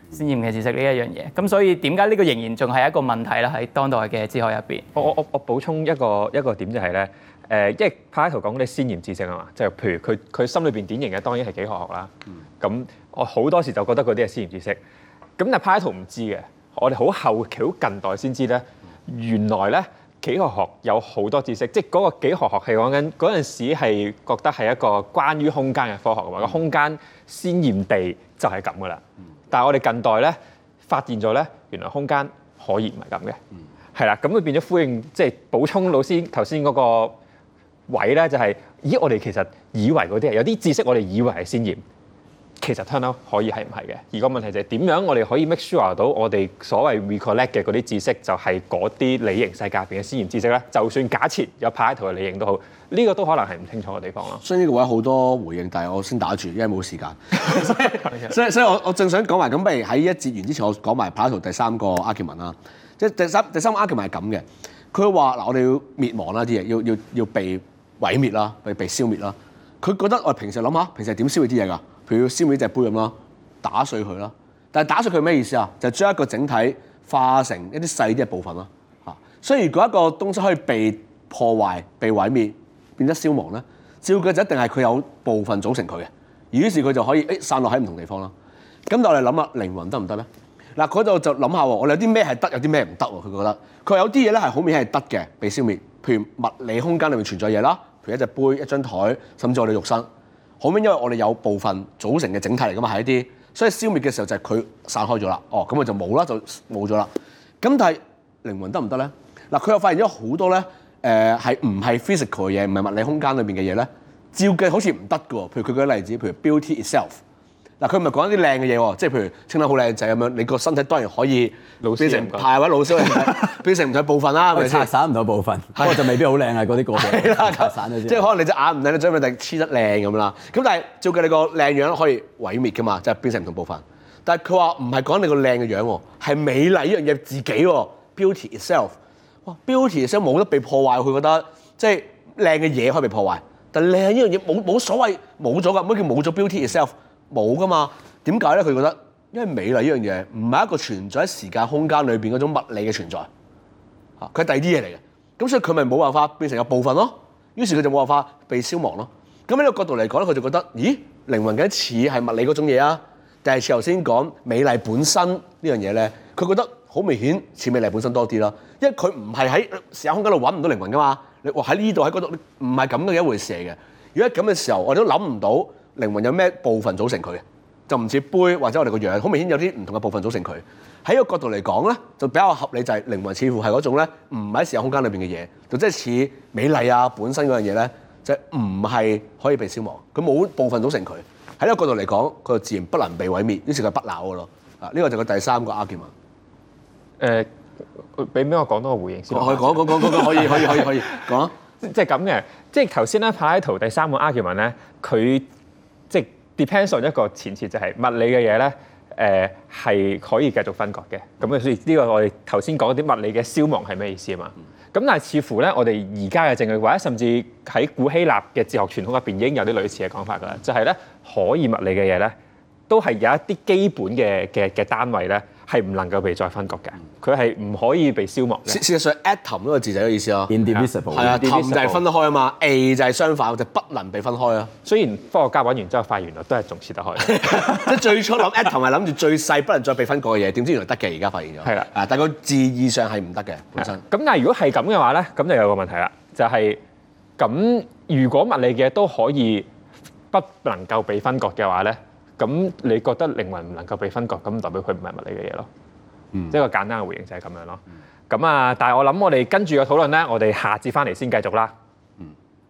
先驗嘅知識呢一樣嘢。咁所以點解呢個仍然仲係一個問題啦？喺當代嘅哲學入邊。 我我我我補充一個一個點就係、是、咧，誒、呃，因為柏拉圖講嗰啲先驗知識啊嘛，就係、譬如佢佢心裏邊典型嘅當然係幾何學啦。咁、嗯、我好多時就覺得嗰啲係先驗知識。咁但係柏拉圖唔知嘅，我哋好後期好近代先知咧，原來咧。幾何學有好多知識，即係嗰個幾何學係講緊嗰陣時係覺得係一個關於空間嘅科學嘅話，個、嗯、空間先驗地就係咁噶啦。嗯、但係我哋近代咧發現咗咧，原來空間可以唔係咁嘅，係啦、嗯。咁佢變咗呼應，即係補充老師頭先嗰個位咧，就係、是、咦，我哋其實以為嗰啲係有啲知識，我哋以為係先驗。其實 turn out 可以係唔係嘅？而個問題就係點樣我哋可以 make sure 到我哋所謂 recollect 嘅嗰啲知識就係嗰啲理型世界入邊嘅先驗知識咧？就算假設有柏拉圖嘅理型都好，呢、這個都可能係唔清楚嘅地方咯。 所以呢個位好多回應，但係我先打住，因為冇時間。所以所以我我正想講埋咁，不如喺一節完之前，我講埋柏拉圖第三個 argument 啦。即係第三第三個 argument 係咁嘅，佢話嗱，我哋要滅亡啦，啲嘢要要要被毀滅啦，被被消滅啦。佢覺得我哋平時諗下，平時係點消滅啲嘢㗎？譬如要消滅隻杯咁啦，打碎佢啦。但係打碎佢咩意思啊？就係將一個整體化成一啲細啲嘅部分啦。嚇，所以如果一個東西可以被破壞、被毀滅、變得消亡咧，照佢就一定係佢有部分組成佢嘅。於是佢就可以誒散落喺唔同地方啦。咁但我哋諗下靈魂得唔得咧？嗱，佢就就諗下喎，我哋有啲咩係得，有啲咩唔得喎？佢覺得佢有啲嘢咧係好明顯係得嘅，被消滅。譬如物理空間裏面存在嘢啦，譬如一隻杯、一張台，甚至我哋肉身。好明顯，因為我哋有部分組成嘅整體嚟㗎嘛，係一啲，所以消滅嘅時候就係佢散開咗啦。哦，咁佢就冇啦，就冇咗啦。咁但係靈魂得唔得咧？嗱，佢又發現咗好多咧，誒係唔係 physical 嘅嘢，唔係物理空間裏邊嘅嘢咧，照計好似唔得㗎喎。譬如佢舉個例子，譬如 beauty itself。嗱，佢唔係講一啲靚嘅嘢喎，即係譬如清得好靚仔咁樣，你個身體當然可以變成派或者老師變成唔同部分啦，係咪先？拆散唔同部分，不過就未必好靚啊！嗰啲個別拆散咗先。即係可能你隻眼唔靚，你將佢哋黐得靚咁啦。咁但係照計你個靚樣可以毀滅㗎嘛，即係變成唔同部分。但係佢話唔係講你個靚嘅樣喎，係美麗呢樣嘢自己喎 ，beauty itself。哇 ，beauty itself 冇得被破壞，佢覺得即係靚嘅嘢可以被破壞，但係靚呢樣嘢冇冇所謂冇咗㗎，乜叫冇咗 beauty itself？冇噶嘛？點解咧？佢覺得因為美麗呢樣嘢唔係一個存在喺時間空間裏邊嗰種物理嘅存在，嚇佢係第二啲嘢嚟嘅。咁所以佢咪冇辦法變成一部分咯。於是佢就冇辦法被消亡咯。咁喺呢個角度嚟講咧，佢就覺得咦，靈魂嘅似係物理嗰種嘢啊，定係似頭先講美麗本身呢樣嘢咧？佢覺得好明顯似美麗本身多啲啦，因為佢唔係喺時間空間度揾唔到靈魂噶嘛。你話喺呢度喺嗰度，唔係咁嘅一回事嚟嘅。如果咁嘅時候，我哋都諗唔到。靈魂有咩部分組成佢嘅？就唔似杯或者我哋個樣，好明顯有啲唔同嘅部分組成佢。喺呢個角度嚟講咧，就比較合理，就係靈魂似乎係嗰種咧，唔喺時間空間裏邊嘅嘢，就即係似美麗啊本身嗰樣嘢咧，就唔係可以被消亡。佢冇部分組成佢。喺呢個角度嚟講，佢就自然不能被毀滅，於是佢不朽嘅咯。啊，呢個就係第三個 argument。誒， 俾俾我講多個回應先。 可以講講講講講，可以可以可以可以講。 即係咁嘅，即係頭先咧柏拉圖第三個 argument 咧，佢。即係 depends on 一個前設，就係物理嘅嘢咧，誒、呃、係可以繼續分割嘅。咁所以呢個我哋頭先講啲物理嘅消亡係咩意思啊嘛？咁、嗯、但係似乎咧，我哋而家嘅證據或者甚至喺古希臘嘅哲學傳統入邊已經有啲類似嘅講法㗎啦，就係、是、咧可以物理嘅嘢咧，都係有一啲基本嘅嘅嘅單位咧，係唔能夠被再分割嘅。佢係唔可以被消亡嘅。事實上 atom 嗰個字就係個意思咯 ，indivisible。 係啊，atom 就係分得開啊嘛 ，a 就係相反，就不能被分開啊。 雖然科學家揾完之後發現原來都係仲切得開。 即係最初諗 atom 係諗住最細不能再被分割嘅嘢，點知原來得嘅，而家發現咗。係啦，啊，但係個字義上係唔得嘅本身。咁但係如果係咁嘅話咧，咁就有個問題啦，就係、是、咁如果物理嘅都可以不能夠被分割嘅話咧，咁你覺得靈魂唔能夠被分割，咁代表佢唔係物理嘅嘢咯？嗯、即係個簡單嘅回應就係咁樣咯。咁、嗯、啊，但係我諗我哋跟住個討論咧，我哋下節翻嚟先繼續啦。嗯、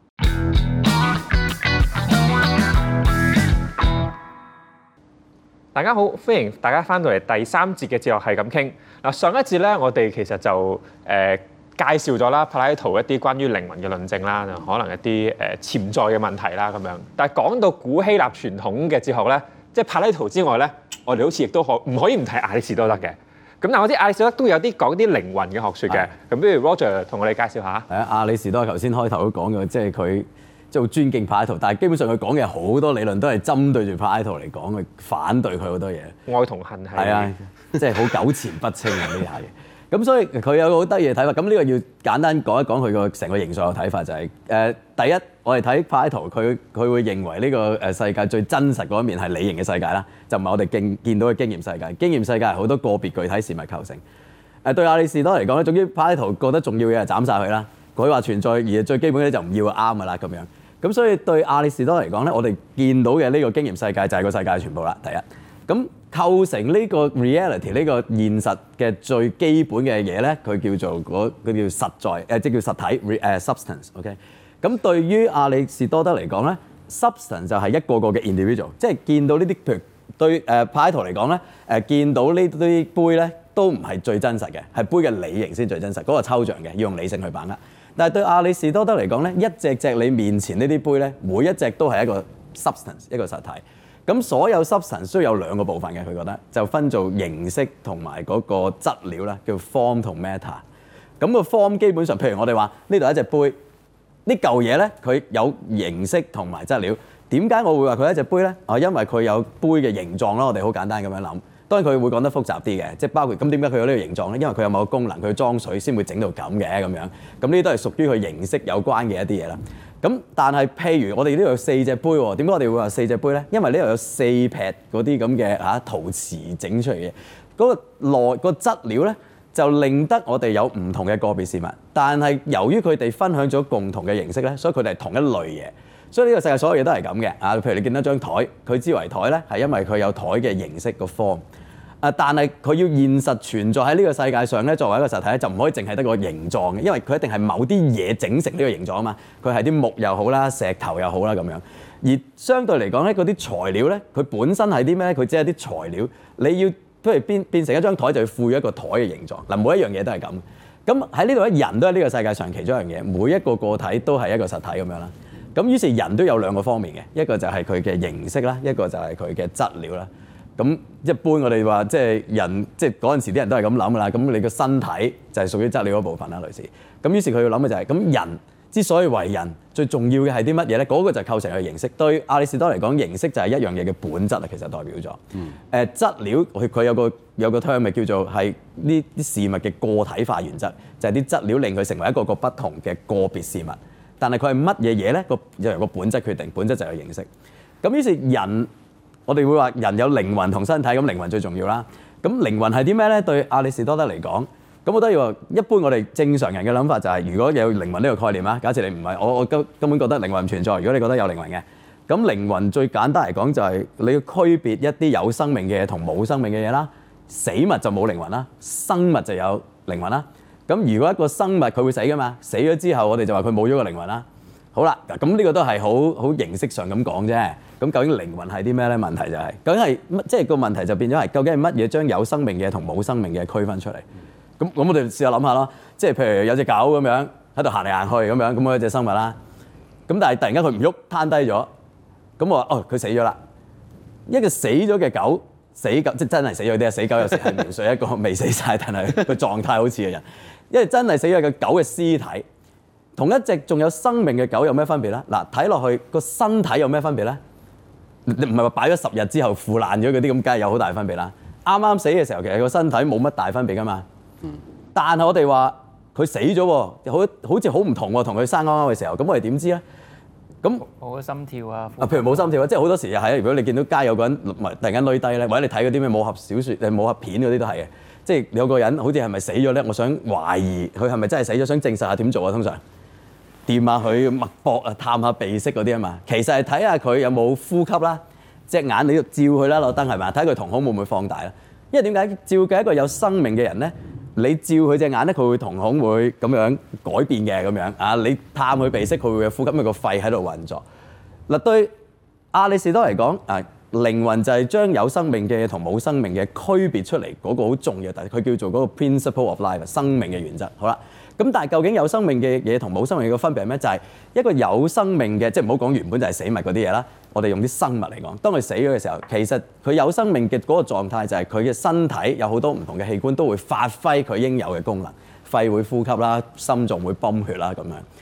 大家好，歡迎大家翻到嚟第三節嘅哲學係咁傾。嗱，上一節咧，我哋其實就誒、呃、介紹咗啦，柏拉圖一啲關於靈魂嘅論證啦，可能一啲誒、呃、潛在嘅問題啦咁樣。但係講到古希臘傳統嘅哲學咧，即係柏拉圖之外咧，我哋好似亦都可唔可以唔睇亞里士多德嘅？咁但係我啲亞里士多德都有啲講啲靈魂嘅學説嘅，咁不如 Roger 同我哋介紹下。 係啊，亞里士多德頭先開頭都講嘅，即係佢即係好尊敬柏拉圖，但係基本上佢講嘅好多理論都係針對住柏拉圖嚟講，去反對佢好多嘢。 愛同恨係。係啊，即係好糾纏不清啊呢下嘢。咁所以佢有個好得意嘅睇法。咁呢個要簡單講一講佢個成個形象嘅睇法，就係、是、誒、呃、第一，我哋睇柏拉圖，佢佢會認為呢個誒世界最真實嗰一面係理型嘅世界啦，就唔係我哋見見到嘅經驗世界。經驗世界係好多個別具體事物構成。誒、呃、對亞里士多嚟講咧，總之柏拉圖覺得重要嘅就斬晒佢啦。佢話存在而最基本嘅就唔要啱㗎啦咁樣。咁所以對亞里士多嚟講咧，我哋見到嘅呢個經驗世界就係個世界全部啦。第一，咁構成呢個 reality 呢個現實嘅最基本嘅嘢咧，佢叫做嗰佢叫實在誒，即叫實體誒、uh, substance。OK，咁對於亞里士多德嚟講咧 ，substance 就係一個個嘅 individual，即係見到呢啲譬如對誒柏拉圖嚟講咧，誒、呃、見到呢啲杯咧都唔係最真實嘅，係杯嘅理型先最真實，嗰、那個抽象嘅要用理性去把握。但係對亞里士多德嚟講咧，一隻隻你面前呢啲杯咧，每一隻都係一個 substance 一個實體。咁所有 substance 都有兩個部分嘅，佢覺得就分做形式同埋嗰個質料啦，叫 form 同 matter。咁個 form 基本上，譬如我哋話呢度一隻杯，呢嚿嘢咧佢有形式同埋質料。點解我會話佢係一隻杯咧？啊，因為佢有杯嘅形狀啦。我哋好簡單咁樣諗。當然佢會講得複雜啲嘅，即係包括咁點解佢有呢個形狀咧？因為佢有某個功能，佢裝水先會整到咁嘅咁樣。咁呢啲都係屬於佢形式有關嘅一啲嘢啦。咁但係譬如我哋呢度有四隻杯喎，點解我哋會話四隻杯咧？因為呢度有四劈嗰啲咁嘅嚇陶瓷整出嚟嘅，嗰、嗰個內、嗰個質料咧就令得我哋有唔同嘅個別事物，但係由於佢哋分享咗共同嘅形式咧，所以佢哋係同一類嘢。所以呢個世界所有嘢都係咁嘅啊！譬如你見到張台，佢之為台咧，係因為佢有台嘅形式個 form。啊！但係佢要現實存在喺呢個世界上咧，作為一個實體咧，就唔可以淨係得個形狀嘅，因為佢一定係某啲嘢整成呢個形狀啊嘛。佢係啲木又好啦，石頭又好啦咁樣。而相對嚟講咧，嗰啲材料咧，佢本身係啲咩咧？佢只係啲材料。你要譬如變變成一張台，就要賦予一個台嘅形狀。嗱，每一樣嘢都係咁。咁喺呢度咧，人都係呢個世界上其中一樣嘢，每一個個體都係一個實體咁樣啦。咁於是人都有兩個方面嘅，一個就係佢嘅形式啦，一個就係佢嘅質料啦。咁一般我哋話即係人，即係嗰陣時啲人都係咁諗噶啦。咁你個身體就係屬於質料嗰部分啦，類似。咁於是佢要諗嘅就係、是，咁人之所以為人，最重要嘅係啲乜嘢咧？嗰、那個就構成佢形式。對亞里士多嚟講，形式就係一樣嘢嘅本質啊，其實代表咗。誒、嗯呃、質料佢佢有個有個 term 咪叫做係呢啲事物嘅個體化原則，就係、是、啲質料令佢成為一個個不同嘅個別事物。但係佢係乜嘢嘢咧？個就由個本質決定，本質就係形式。咁於是人。我哋會話人有靈魂同身體，咁靈魂最重要啦。咁靈魂係啲咩咧？對亞里士多德嚟講，咁我都要話，一般我哋正常人嘅諗法就係、是，如果有靈魂呢個概念啊，假設你唔係我，我根根本覺得靈魂唔存在。如果你覺得有靈魂嘅，咁靈魂最簡單嚟講就係你要區別一啲有生命嘅嘢同冇生命嘅嘢啦。死物就冇靈魂啦，生物就有靈魂啦。咁如果一個生物佢會死噶嘛，死咗之後我哋就話佢冇咗個靈魂啦。好啦，咁呢個都係好好形式上咁講啫。咁究竟靈魂係啲咩咧？問題就係、是、究竟係乜？即係個問題就變咗係究竟係乜嘢將有生命嘅同冇生命嘅區分出嚟？咁咁我哋試下諗下咯。即係譬如有隻狗咁樣喺度行嚟行去咁樣，咁嗰隻生物啦。咁但係突然間佢唔喐，攤低咗。咁我話哦，佢死咗啦。一個死咗嘅狗，死狗即係真係死咗啲啊！死狗有時係描述一個未死晒，但係個狀態好似嘅人。因為真係死咗嘅狗嘅屍體，同一隻仲有生命嘅狗有咩分別咧？嗱，睇落去個身體有咩分別咧？你唔係話擺咗十日之後腐爛咗嗰啲咁，梗係有好大分別啦。啱啱死嘅時候，其實個身體冇乜大分別噶嘛。嗯、但係我哋話佢死咗，好好似好唔同喎，同佢生啱啱嘅時候。咁我哋點知咧？咁冇心跳啊！ 啊，譬如冇心跳啊，即係好多時係啊。如果你見到街有個人突然間攣低咧，或者你睇嗰啲咩武俠小説、誒武俠片嗰啲都係嘅。即係有個人好似係咪死咗咧？我想懷疑佢係咪真係死咗，想證實下點做啊？通常掂下佢脈搏啊，探下鼻息嗰啲啊嘛。其實係睇下佢有冇呼吸啦，隻眼你要照佢啦，攞燈係咪？睇佢瞳孔會唔會放大啦？因為點解照嘅一個有生命嘅人咧，你照佢隻眼咧，佢會瞳孔會咁樣改變嘅咁樣啊。你探佢鼻息，佢會有呼吸，因為個肺喺度運作。嗱，對亞里士多嚟講啊，靈魂就係將有生命嘅同冇生命嘅區別出嚟嗰個好重要，但係佢叫做嗰個 principle of life 生命嘅原則。好啦。咁但係究竟有生命嘅嘢同冇生命嘅分別係咩？就係、是、一個有生命嘅，即係唔好講原本就係死物嗰啲嘢啦。我哋用啲生物嚟講，當佢死咗嘅時候，其實佢有生命嘅嗰個狀態就係佢嘅身體有好多唔同嘅器官都會發揮佢應有嘅功能，肺會呼吸啦，心臟會泵血啦咁樣。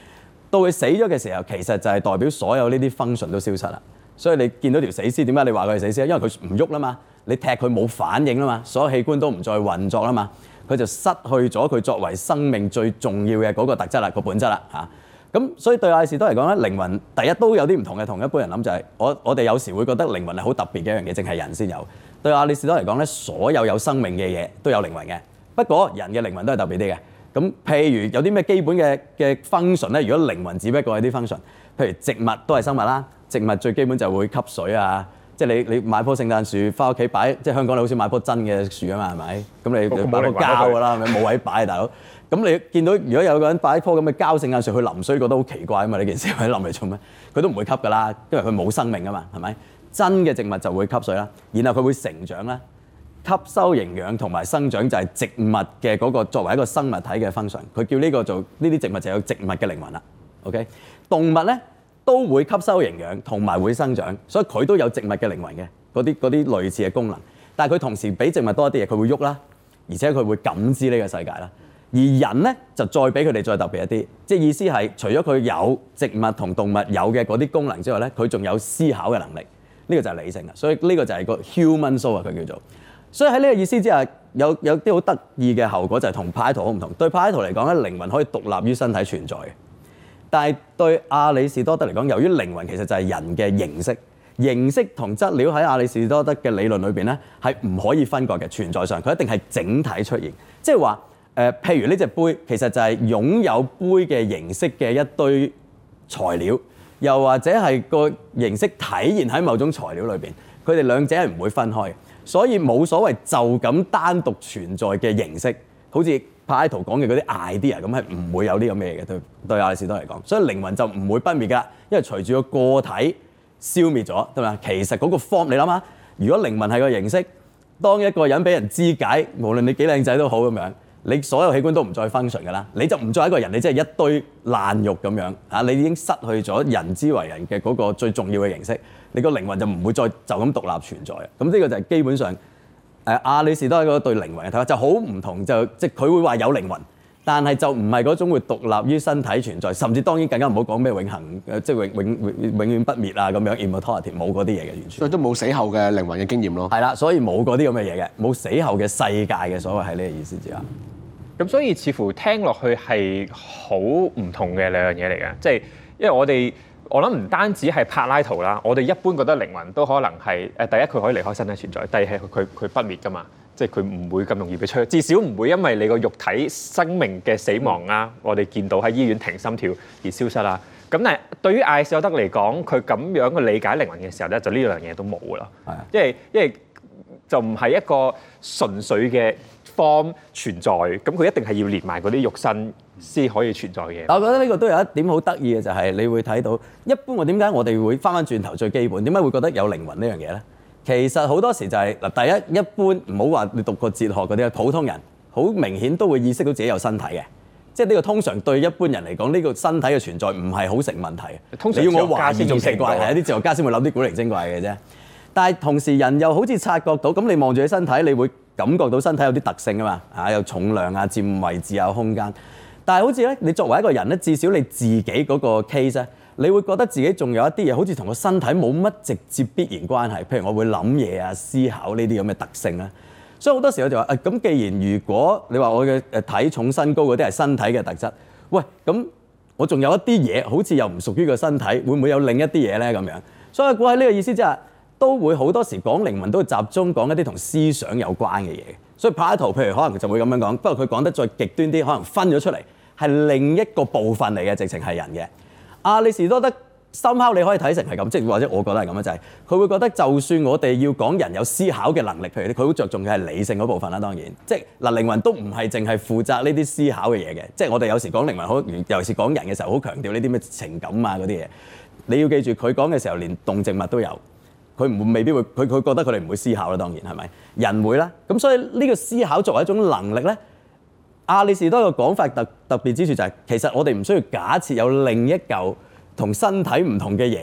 到佢死咗嘅時候，其實就係代表所有呢啲 function 都消失啦。所以你見到條死屍，點解你話佢係死屍？因為佢唔喐啦嘛，你踢佢冇反應啦嘛，所有器官都唔再運作啦嘛，佢就失去咗佢作為生命最重要嘅嗰個特質啦，個本質啦嚇。咁所以對亞里士多嚟講咧，靈魂第一都有啲唔同嘅，同一般人諗就係、是、我我哋有時會覺得靈魂係好特別嘅一樣嘢，淨係人先有。對亞里士多嚟講咧，所有有生命嘅嘢都有靈魂嘅，不過人嘅靈魂都係特別啲嘅。咁譬如有啲咩基本嘅嘅 function 咧？如果靈魂只不過係啲 function，譬如植物都係生物啦，植物最基本就會吸水啊，即係你你買棵聖誕樹翻屋企擺，即係香港你好似買棵真嘅樹啊嘛，係咪？咁你你擺棵膠㗎啦，係咪冇位擺啊，大佬？咁你見到如果有個人擺棵咁嘅膠聖誕樹去淋水，覺得好奇怪啊嘛？呢件事喺淋嚟做咩？佢都唔會吸㗎啦，因為佢冇生命啊嘛，係咪？真嘅植物就會吸水啦，然後佢會成長啦。吸收營養同埋生長就係植物嘅嗰個作為一個生物體嘅 function，佢叫呢個做呢啲植物就有植物嘅靈魂啦。OK， 動物咧都會吸收營養同埋會生長，所以佢都有植物嘅靈魂嘅嗰啲嗰啲類似嘅功能。但係佢同時比植物多一啲嘢，佢會喐啦，而且佢會感知呢個世界啦。而人咧就再比佢哋再特別一啲，即係意思係除咗佢有植物同動物有嘅嗰啲功能之外咧，佢仲有思考嘅能力。呢個就係理性啦。所以呢個就係個 human soul 啊，佢叫做。所以喺呢個意思之下，有有啲好得意嘅後果就係同柏拉圖好唔同。對柏拉圖嚟講咧，靈魂可以獨立於身體存在嘅，但係對亞里士多德嚟講，由於靈魂其實就係人嘅形式，形式同質料喺亞里士多德嘅理論裏邊咧係唔可以分割嘅，存在上佢一定係整體出現。即係話誒，譬如呢隻杯其實就係擁有杯嘅形式嘅一堆材料，又或者係個形式體現喺某種材料裏邊，佢哋兩者係唔會分開嘅。所以冇所謂就咁單獨存在嘅形式，好似柏拉圖講嘅嗰啲 idea 咁，係唔會有呢個咩嘅。對對亞里士多嚟講，所以靈魂就唔會不滅㗎，因為隨住個個體消滅咗，對嘛？其實嗰個 form 你諗下，如果靈魂係個形式，當一個人俾人肢解，無論你幾靚仔都好咁樣，你所有器官都唔再 function 㗎啦，你就唔再係一個人，你即係一堆爛肉咁樣啊！你已經失去咗人之為人嘅嗰個最重要嘅形式。你個靈魂就唔會再就咁獨立存在啊！咁呢個就係基本上誒亞里士多德對靈魂嘅睇法就好唔同，就即係佢會話有靈魂，但係就唔係嗰種會獨立於身體存在，甚至當然更加唔好講咩永恆誒，即係永永永永遠不滅啊咁樣 immortality 冇嗰啲嘢嘅完全。所以都冇死後嘅靈魂嘅經驗咯。 係啦，所以冇嗰啲咁嘅嘢嘅，冇死後嘅世界嘅所謂係呢個意思之下。 咁所以似乎聽落去係好唔同嘅兩樣嘢嚟嘅，即係因為我哋。我諗唔單止係柏拉圖啦，我哋一般覺得靈魂都可能係誒第一佢可以離開身體存在，第二係佢佢不滅㗎嘛，即係佢唔會咁容易被摧，至少唔會因為你個肉體生命嘅死亡啊，我哋見到喺醫院停心跳而消失啦。咁但係對於亞里士多德嚟講，佢咁樣去理解靈魂嘅時候咧，就呢樣嘢都冇啦。係啊，因為因為就唔係一個純粹嘅 form 存在，咁佢一定係要連埋嗰啲肉身先可以存在嘅。 我覺得呢個都有一點好得意嘅，就係你會睇到一般我點解我哋會翻翻轉頭最基本，點解會覺得有靈魂呢樣嘢咧？其實好多時就係嗱，第一一般唔好話你讀過哲學嗰啲，普通人好明顯都會意識到自己有身體嘅，即係呢個通常對一般人嚟講，呢個身體嘅存在唔係好成問題。通常你要我懷疑仲奇怪，係一啲哲學家先會諗啲古靈精怪嘅啫。但係同時人又好似察覺到，咁你望住你身體，你會感覺到身體有啲特性啊嘛，啊有重量啊、佔位置啊、空間。但係好似咧，你作為一個人咧，至少你自己嗰個 case 咧，你會覺得自己仲有一啲嘢，好似同個身體冇乜直接必然關係。譬如我會諗嘢啊、思考呢啲咁嘅特性啦。所以好多時我就話誒，咁、啊、既然如果你話我嘅誒體重、身高嗰啲係身體嘅特質，喂，咁我仲有一啲嘢，好似又唔屬於個身體，會唔會有另一啲嘢咧？咁樣，所以我估喺呢個意思之下，都會好多時講靈魂都會集中講一啲同思想有關嘅嘢。所以柏拉圖譬如可能就會咁樣講，不過佢講得再極端啲，可能分咗出嚟係另一個部分嚟嘅，直情係人嘅。亞里士多德深刻你可以睇成係咁，即係或者我覺得係咁樣，就係、是、佢會覺得就算我哋要講人有思考嘅能力，譬如佢好着重嘅係理性嗰部分啦，當然即係嗱靈魂都唔係淨係負責呢啲思考嘅嘢嘅，即係我哋有時講靈魂好，尤其是講人嘅時候好強調呢啲咩情感啊嗰啲嘢。你要記住佢講嘅時候連動植物都有。佢唔會未必會，佢佢覺得佢哋唔會思考啦，當然係咪？人會啦，咁所以呢個思考作為一種能力咧，亞里士多德嘅講法特特別之處就係、是，其實我哋唔需要假設有另一嚿同身體唔同嘅嘢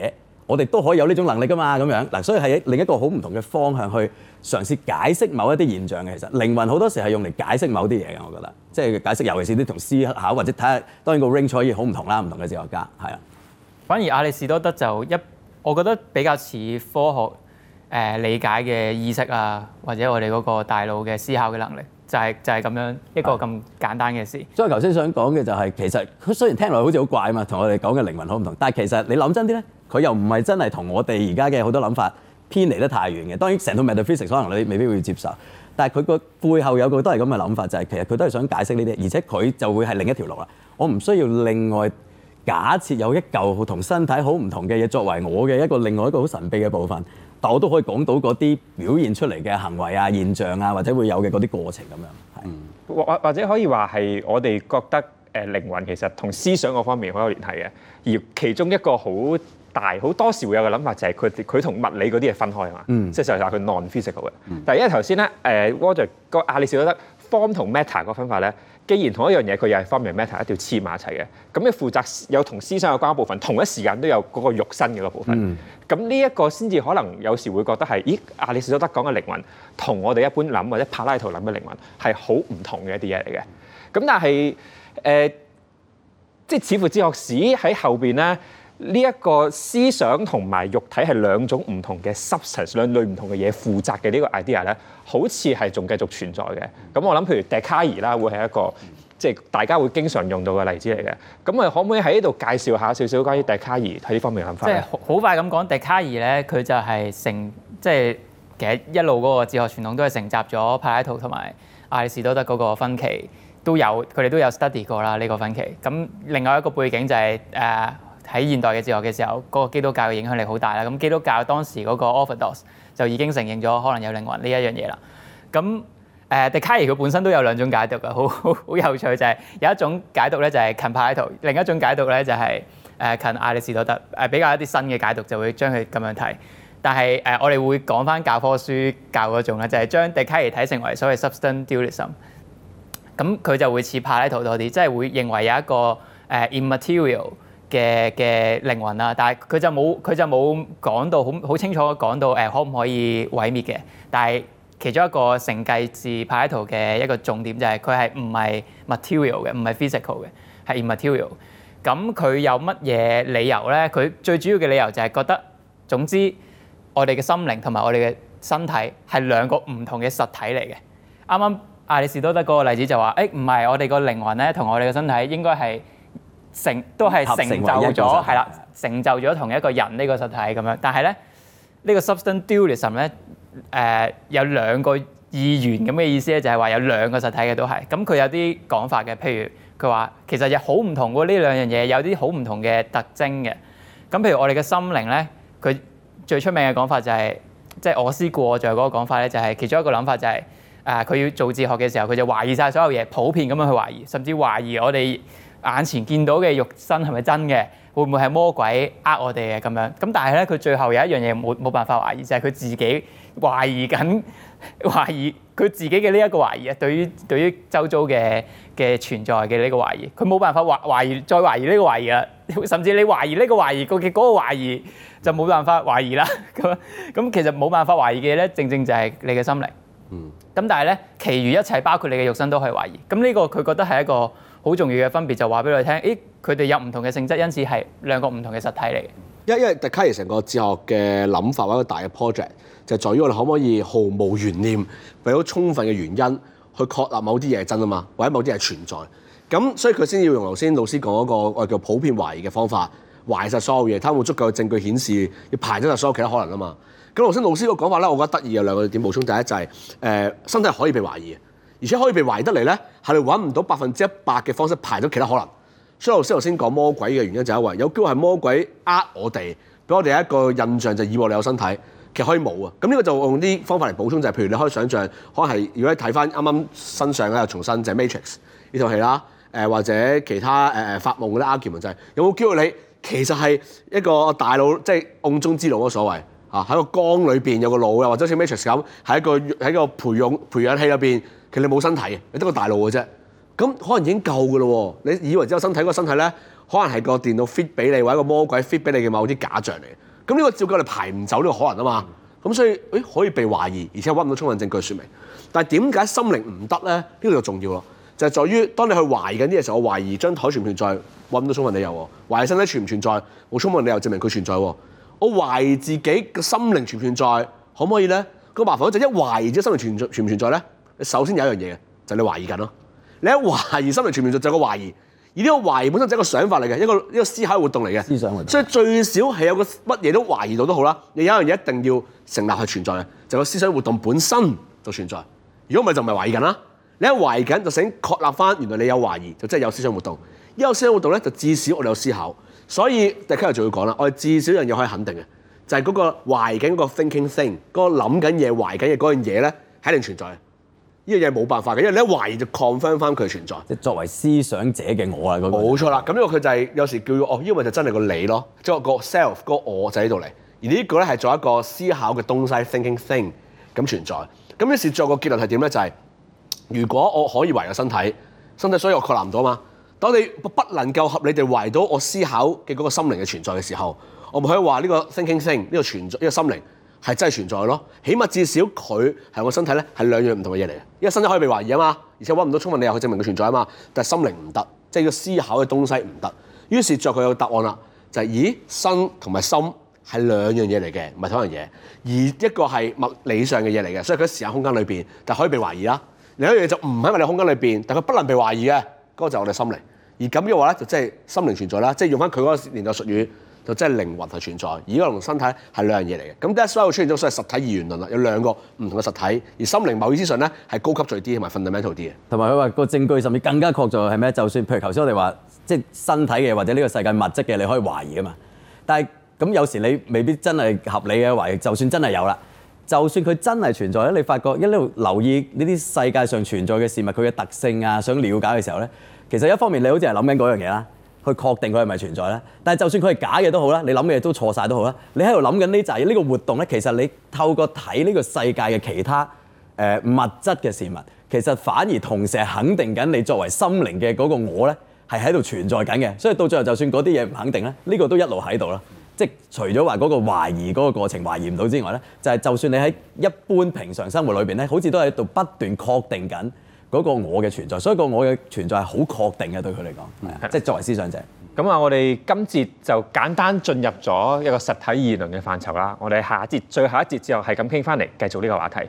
我哋都可以有呢種能力㗎嘛，咁樣嗱，所以係另一個好唔同嘅方向去嘗試解釋某一啲現象嘅。其實靈魂好多時係用嚟解釋某啲嘢嘅，我覺得，即係解釋，尤其是啲同思考或者睇下，當然個 range 可以好唔同啦，唔同嘅哲學家係啊。 反而亞里士多德就一，我覺得比較似科學誒、呃、理解嘅意識啊，或者我哋嗰個大腦嘅思考嘅能力，就係、是、就係、是、咁樣一個咁簡單嘅事。 所以頭先想講嘅就係、是、其實佢雖然聽落去好似好怪啊嘛，同我哋講嘅靈魂好唔同，但係其實你諗真啲咧。佢又唔係真係同我哋而家嘅好多諗法偏離得太遠嘅。當然成套 metaphysics 可能你未必會接受，但係佢個背後有個都係咁嘅諗法，就係、是、其實佢都係想解釋呢啲，而且佢就會係另一條路啦。我唔需要另外假設有一嚿同身體好唔同嘅嘢作為我嘅一個另外一個好神秘嘅部分，但我都可以講到嗰啲表現出嚟嘅行為啊、現象啊，或者會有嘅嗰啲過程咁樣。係或或或者可以話係我哋覺得誒靈魂其實同思想嗰方面好有聯繫嘅，而其中一個好大好多時會有嘅諗法就係佢佢同物理嗰啲係分開啊嘛，嗯、即係就係話佢 non-physical 嘅。嗯、但係因為頭先咧誒 Roger 個亞里士多德 form 同 matter 個分法咧，既然同一樣嘢佢又係 form 同 matter 一定要黐埋一齊嘅，咁你負責有同思想有關嘅部分，同一時間都有嗰個肉身嘅個部分。咁呢一個先至可能有時會覺得係，咦亞里士多德講嘅靈魂同我哋一般諗或者柏拉圖諗嘅靈魂係好唔同嘅一啲嘢嚟嘅。咁但係誒、呃，即係似乎哲學史喺後邊咧。呢一個思想同埋肉體係兩種唔同嘅 substance， 兩類唔同嘅嘢負責嘅呢個 idea 咧，好似係仲繼續存在嘅。咁我諗，譬如笛卡爾啦，會係一個即係大家會經常用到嘅例子嚟嘅。咁啊，可唔可以喺呢度介紹下少少關於笛卡爾喺呢方面嘅諗法？ 即係好快咁講，笛卡爾咧，佢就係承即係其實一路嗰個哲學傳統都係承襲咗柏拉圖同埋亞里士多德嗰個分歧，都有佢哋都有 study 過啦呢、這個分歧。咁另外一個背景就係、是、誒。呃喺現代嘅哲學嘅時候，嗰、那個基督教嘅影響力好大啦。咁基督教當時嗰個 Orthodox 就已經承認咗可能有靈魂呢一樣嘢啦。咁誒，笛卡爾佢本身都有兩種解讀嘅，好好好有趣就係、是、有一種解讀咧就係近柏拉圖，另一種解讀咧就係誒近亞里士多德，誒比較一啲新嘅解讀就會將佢咁樣睇。但係誒，我哋會講翻教科書教嗰種咧，就係、是、將笛卡爾睇成為所謂 substance dualism。咁佢就會似柏拉圖多啲，即係會認為有一個誒、uh, immaterial。嘅嘅靈魂啦，但係佢就冇佢就冇講到好好清楚講到誒、呃、可唔可以毀滅嘅。但係其中一個承繼自柏拉圖嘅一個重點就係佢係唔係 material 嘅，唔係 physical 嘅，係 immaterial。咁佢有乜嘢理由咧？佢最主要嘅理由就係覺得總之我哋嘅心靈同埋我哋嘅身體係兩個唔同嘅實體嚟嘅。啱啱亞里士多德嗰個例子就話誒唔係我哋個靈魂咧同我哋嘅身體應該係。成都係成就咗，係啦，成就咗同一個人呢個實體咁樣。但係咧，呢、這個 substance dualism 咧，誒、呃、有兩個意願咁嘅意思咧，就係、是、話有兩個實體嘅都係。咁佢有啲講法嘅，譬如佢話其實又好唔同喎，呢兩樣嘢有啲好唔同嘅特徵嘅。咁譬如我哋嘅心靈咧，佢最出名嘅講法就係、是，即係我思故我在嗰個講法咧，就係、是、其中一個諗法就係、是，誒佢要做哲學嘅時候，佢就懷疑晒所有嘢，普遍咁樣去懷疑，甚至懷疑我哋眼前見到嘅肉身係咪真嘅？會唔會係魔鬼呃我哋嘅咁樣？咁但係咧，佢最後有一樣嘢冇冇辦法懷疑，就係、是、佢自己懷疑緊，懷疑佢自己嘅呢一個懷疑啊！對於對於周遭嘅嘅存在嘅呢個懷疑，佢冇辦法懷懷疑再懷疑呢個懷疑啦。甚至你懷疑呢個懷疑嘅嗰個懷疑就冇辦法懷疑啦。咁咁其實冇辦法懷疑嘅咧，正正就係你嘅心靈。嗯。咁但係咧，其餘一切包括你嘅肉身都可以懷疑。咁呢個佢覺得係一個好重要嘅分別，就話俾你聽，誒佢哋有唔同嘅性質，因此係兩個唔同嘅實體嚟嘅。 因因為笛卡爾成個哲學嘅諗法或者一個大嘅 project，就在於我哋可唔可以毫無懸念，為咗充分嘅原因去確立某啲嘢係真啊嘛，或者某啲嘢存在。咁所以佢先要用頭先老師講嗰個我叫普遍懷疑嘅方法，懷實所有嘢，睇有冇足夠嘅證據顯示要排除晒所有其他可能啊嘛。咁頭先老師個講法咧，我覺得得意有兩個點補充。第一就係、是、誒、呃、身體可以被懷疑。而且可以被懷疑得嚟咧，係你揾唔到百分之一百嘅方式排到其他可能。所以老師頭先講魔鬼嘅原因就係因為有機會係魔鬼呃我哋，俾我哋一個印象就以為你有身體，其實可以冇啊。咁呢個就用啲方法嚟補充，就係、是、譬如你可以想像，可能係如果你睇翻啱啱新上咧又重新就係、是、Matrix 呢套戲啦，誒、呃、或者其他誒誒、呃、發夢嗰啲 argument 就係、是、有冇機會你其實係一個大腦即係甕中之腦嗰所謂啊，喺個缸裏邊有個腦，又或者好似 Matrix 咁喺一個喺個培養培養器入邊。其實你冇身體嘅，你得個大腦嘅啫。咁可能已經夠嘅咯喎。你以為只有身體，嗰個身體咧，可能係個電腦 fit 俾你，或者個魔鬼 fit 俾你嘅某啲假象嚟。 咁呢個照計我哋排唔走呢個可能啊嘛。咁、嗯、所以誒可以被懷疑，而且揾唔到充分證據説明。但係點解心靈唔得咧？呢、呢個就重要咯，就係、是、在於當你去懷疑緊啲嘢時候，我懷疑張台存唔存在，揾唔到充分理由喎；懷疑身體存唔存在，冇充分理由證明佢存在喎。我懷疑自己嘅心靈存唔存在，可唔可以咧？個麻煩就一懷疑自己心靈存在存唔存在咧，你首先有一樣嘢嘅，就係、你懷疑緊咯。你一懷疑心靈存唔存在，就係、個懷疑。而呢個懷疑本身就係一個想法嚟嘅，一個一個思考活動嚟嘅。 思想活動。所以最少係有個乜嘢都懷疑到都好啦。你有一樣嘢一定要成立係存在嘅，就係、個思想活動本身就存在。如果唔係就唔係懷疑緊啦。你一懷疑緊就請確立翻，原來你有懷疑就即係有思想活動。一有思想活動咧，就至少我哋有思考。所以第七日就要講啦，我哋至少一樣嘢可以肯定嘅，就係、是、嗰個懷緊嗰個 thinking thing，嗰個諗緊嘢、懷緊嘅嗰樣嘢咧，係一定存在嘅。呢樣嘢冇辦法嘅，因為你一懷疑就 confirm 翻佢存在。 即係作為思想者嘅我啊，嗰、嗰個冇錯啦。咁呢個佢就係、是、有時叫哦，呢個就真係個你咯，即係個 self 個我就喺度嚟。而呢個咧係做一個思考嘅東西 thinking thing 咁存在。咁於是作個結論係點咧？就係、是、如果我可以懷有身體，身體所以我確立唔到嘛。當你不能夠合理地懷到我思考嘅嗰個心靈嘅存在嘅時候，我咪可以話呢個 thinking thing 呢個存在呢、呢個心靈係真係存在咯。起碼至少佢係我身體咧係兩樣唔同嘅嘢嚟嘅。因為身體可以被懷疑啊嘛，而且揾唔到充分理由去證明佢存在啊嘛。但係心靈唔得，即係個思考嘅東西唔得。於是作佢有個答案啦，就係、是、咦身同埋心係兩樣嘢嚟嘅，唔係同一樣嘢。而一個係物理上嘅嘢嚟嘅，所以佢喺時間空間裏邊，但係可以被懷疑啦。另一樣嘢就唔喺物理空間裏邊，但係佢不能被懷疑嘅，嗰、那個就係我哋心靈。而咁嘅話咧，就即係心靈存在啦，即係用翻佢嗰個年代術語，就即係靈魂係存在，而呢個同身體係兩樣嘢嚟嘅。咁 that's why 會出現咗所謂實體二元論啦，有兩個唔同嘅實體，而心靈某意思上咧係高級最啲同埋 fundamental 啲嘅。 同埋佢話個證據甚至更加確鑿係咩？就算譬如頭先我哋話，即係身體嘅或者呢個世界物質嘅，你可以懷疑啊嘛。但係咁有時你未必真係合理嘅懷疑，就算真係有啦，就算佢真係存在咧，你發覺一路留意呢啲世界上存在嘅事物，佢嘅特性啊，想了解嘅時候咧。其實一方面你好似係諗緊嗰樣嘢啦，去確定佢係咪存在啦。但係就算佢係假嘅都好啦，你諗嘅嘢都錯晒都好啦。你喺度諗緊呢就係呢個活動咧，其實你透過睇呢個世界嘅其他誒、呃、物質嘅事物，其實反而同時係肯定緊你作為心靈嘅嗰個我咧，係喺度存在緊嘅。所以到最後就算嗰啲嘢唔肯定咧，呢、呢個都一路喺度啦。即係除咗話嗰個懷疑嗰個過程懷疑唔到之外咧，就係、係、就算你喺一般平常生活裏邊咧，好似都喺度不斷確定緊嗰個我嘅存在，所以個我嘅存在係好確定嘅，對佢嚟講，係啊，即係作為思想者。 咁啊，我哋今節就簡單進入咗一個實體二論嘅範疇啦。我哋下一節最後一節之後係咁傾翻嚟，繼續呢個話題。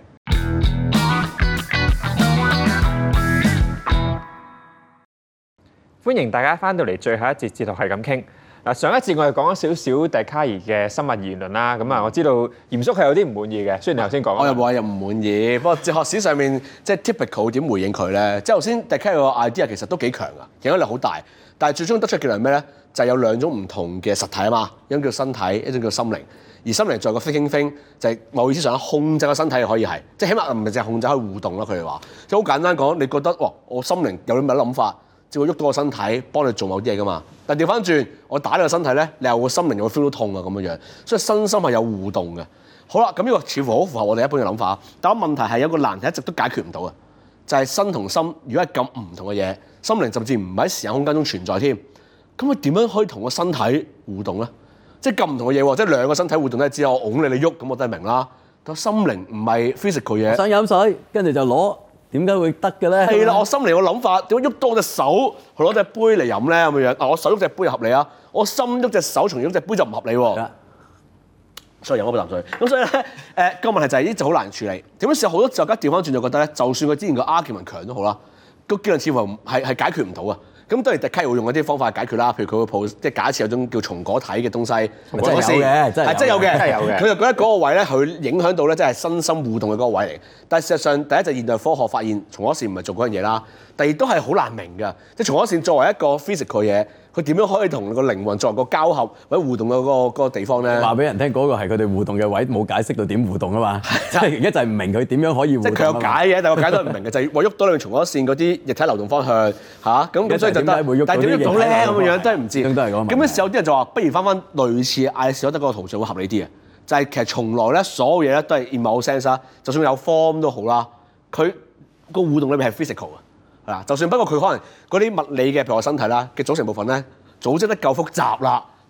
歡迎大家翻到嚟最後一節哲學係咁傾。嗱，上一節我哋講咗少少笛卡爾嘅生物二元論啦，咁啊我知道嚴叔係有啲唔滿意嘅，雖然你頭先講， 我又冇話又唔滿意，不過哲學史上面即係 typical 點回應佢咧？即係頭先笛卡爾個 idea 其實都幾強噶，影響力好大，但係最終得出嘅結論係咩咧？就係、是、有兩種唔同嘅實體啊嘛，一種叫身體，一種叫心靈。而心靈在個 thinking thing 就係某意思上控制個身體可以係，即係起碼唔係淨係控制可以互動咯。佢哋話即係好簡單講，你覺得哇，我心靈有啲乜諗法？只會喐到個身體，幫你做某啲嘢噶嘛。但調翻轉，我打你個身體咧，你又個心靈又會 feel 到痛啊咁樣樣。所以身心係有互動嘅。好啦，咁呢個似乎好符合我哋一般嘅諗法。但係問題係有個難題一直都解決唔到嘅，就係、是、身同心如果係咁唔同嘅嘢，心靈甚至唔喺時間空間中存在添。咁佢點樣可以同個身體互動咧？即係咁唔同嘅嘢喎，即係兩個身體互動咧，只有我擁你你喐，咁我都係明啦。但心靈唔係 physical 嘢。 想飲水，跟住就攞。點解會得嘅咧？ 係啦，我心靈個諗法點解喐多隻手去攞隻杯嚟飲咧咁樣樣？嗱，我手喐隻杯合理啊，我心喐隻手從喐隻杯就唔合理喎。所以飲嗰杯啖水。咁所以咧，誒、呃、個問題就係呢就好難處理。點樣試好多哲學家調翻轉就覺得咧，就算佢之前個 argument 強都好啦，個結論似乎係係解決唔到啊。咁當然笛卡爾會用一啲方法解決啦，譬如佢會抱即係假設有種叫松果體嘅東西， 真係有嘅，真係有嘅， 真係有嘅。 佢就覺得嗰個位咧，佢影響到咧，即係身心互動嘅嗰個位嚟。但係事實上，第一就現代科學發現松果線唔係做嗰樣嘢啦，第二都係好難明㗎。即係松果線作為一個 physical 嘢，佢點樣可以同個靈魂作為個交合或者互動嘅嗰個嗰個地方咧？話俾人聽嗰個係佢哋互動嘅位，冇解釋到點互動啊嘛。即係而家就係唔明佢點樣可以互動。即係佢有解嘅，但係我解得唔明嘅就係話喐到兩松果線嗰啲液體流動方向嚇，咁咁所以就得。但係點喐到咧咁嘅樣真係唔知。咁嗰時有啲人就話，不如翻翻類似亞里士多德嗰個圖像會合理啲嘅，就係、是、其實從來咧所有嘢咧都係 in 某 sense 啦，就算有 form 都好啦，佢個互動裏面係 physical 嘅，係啦，就算不過佢可能嗰啲物理嘅譬如我身體啦嘅組成部分咧組織得夠複雜啦，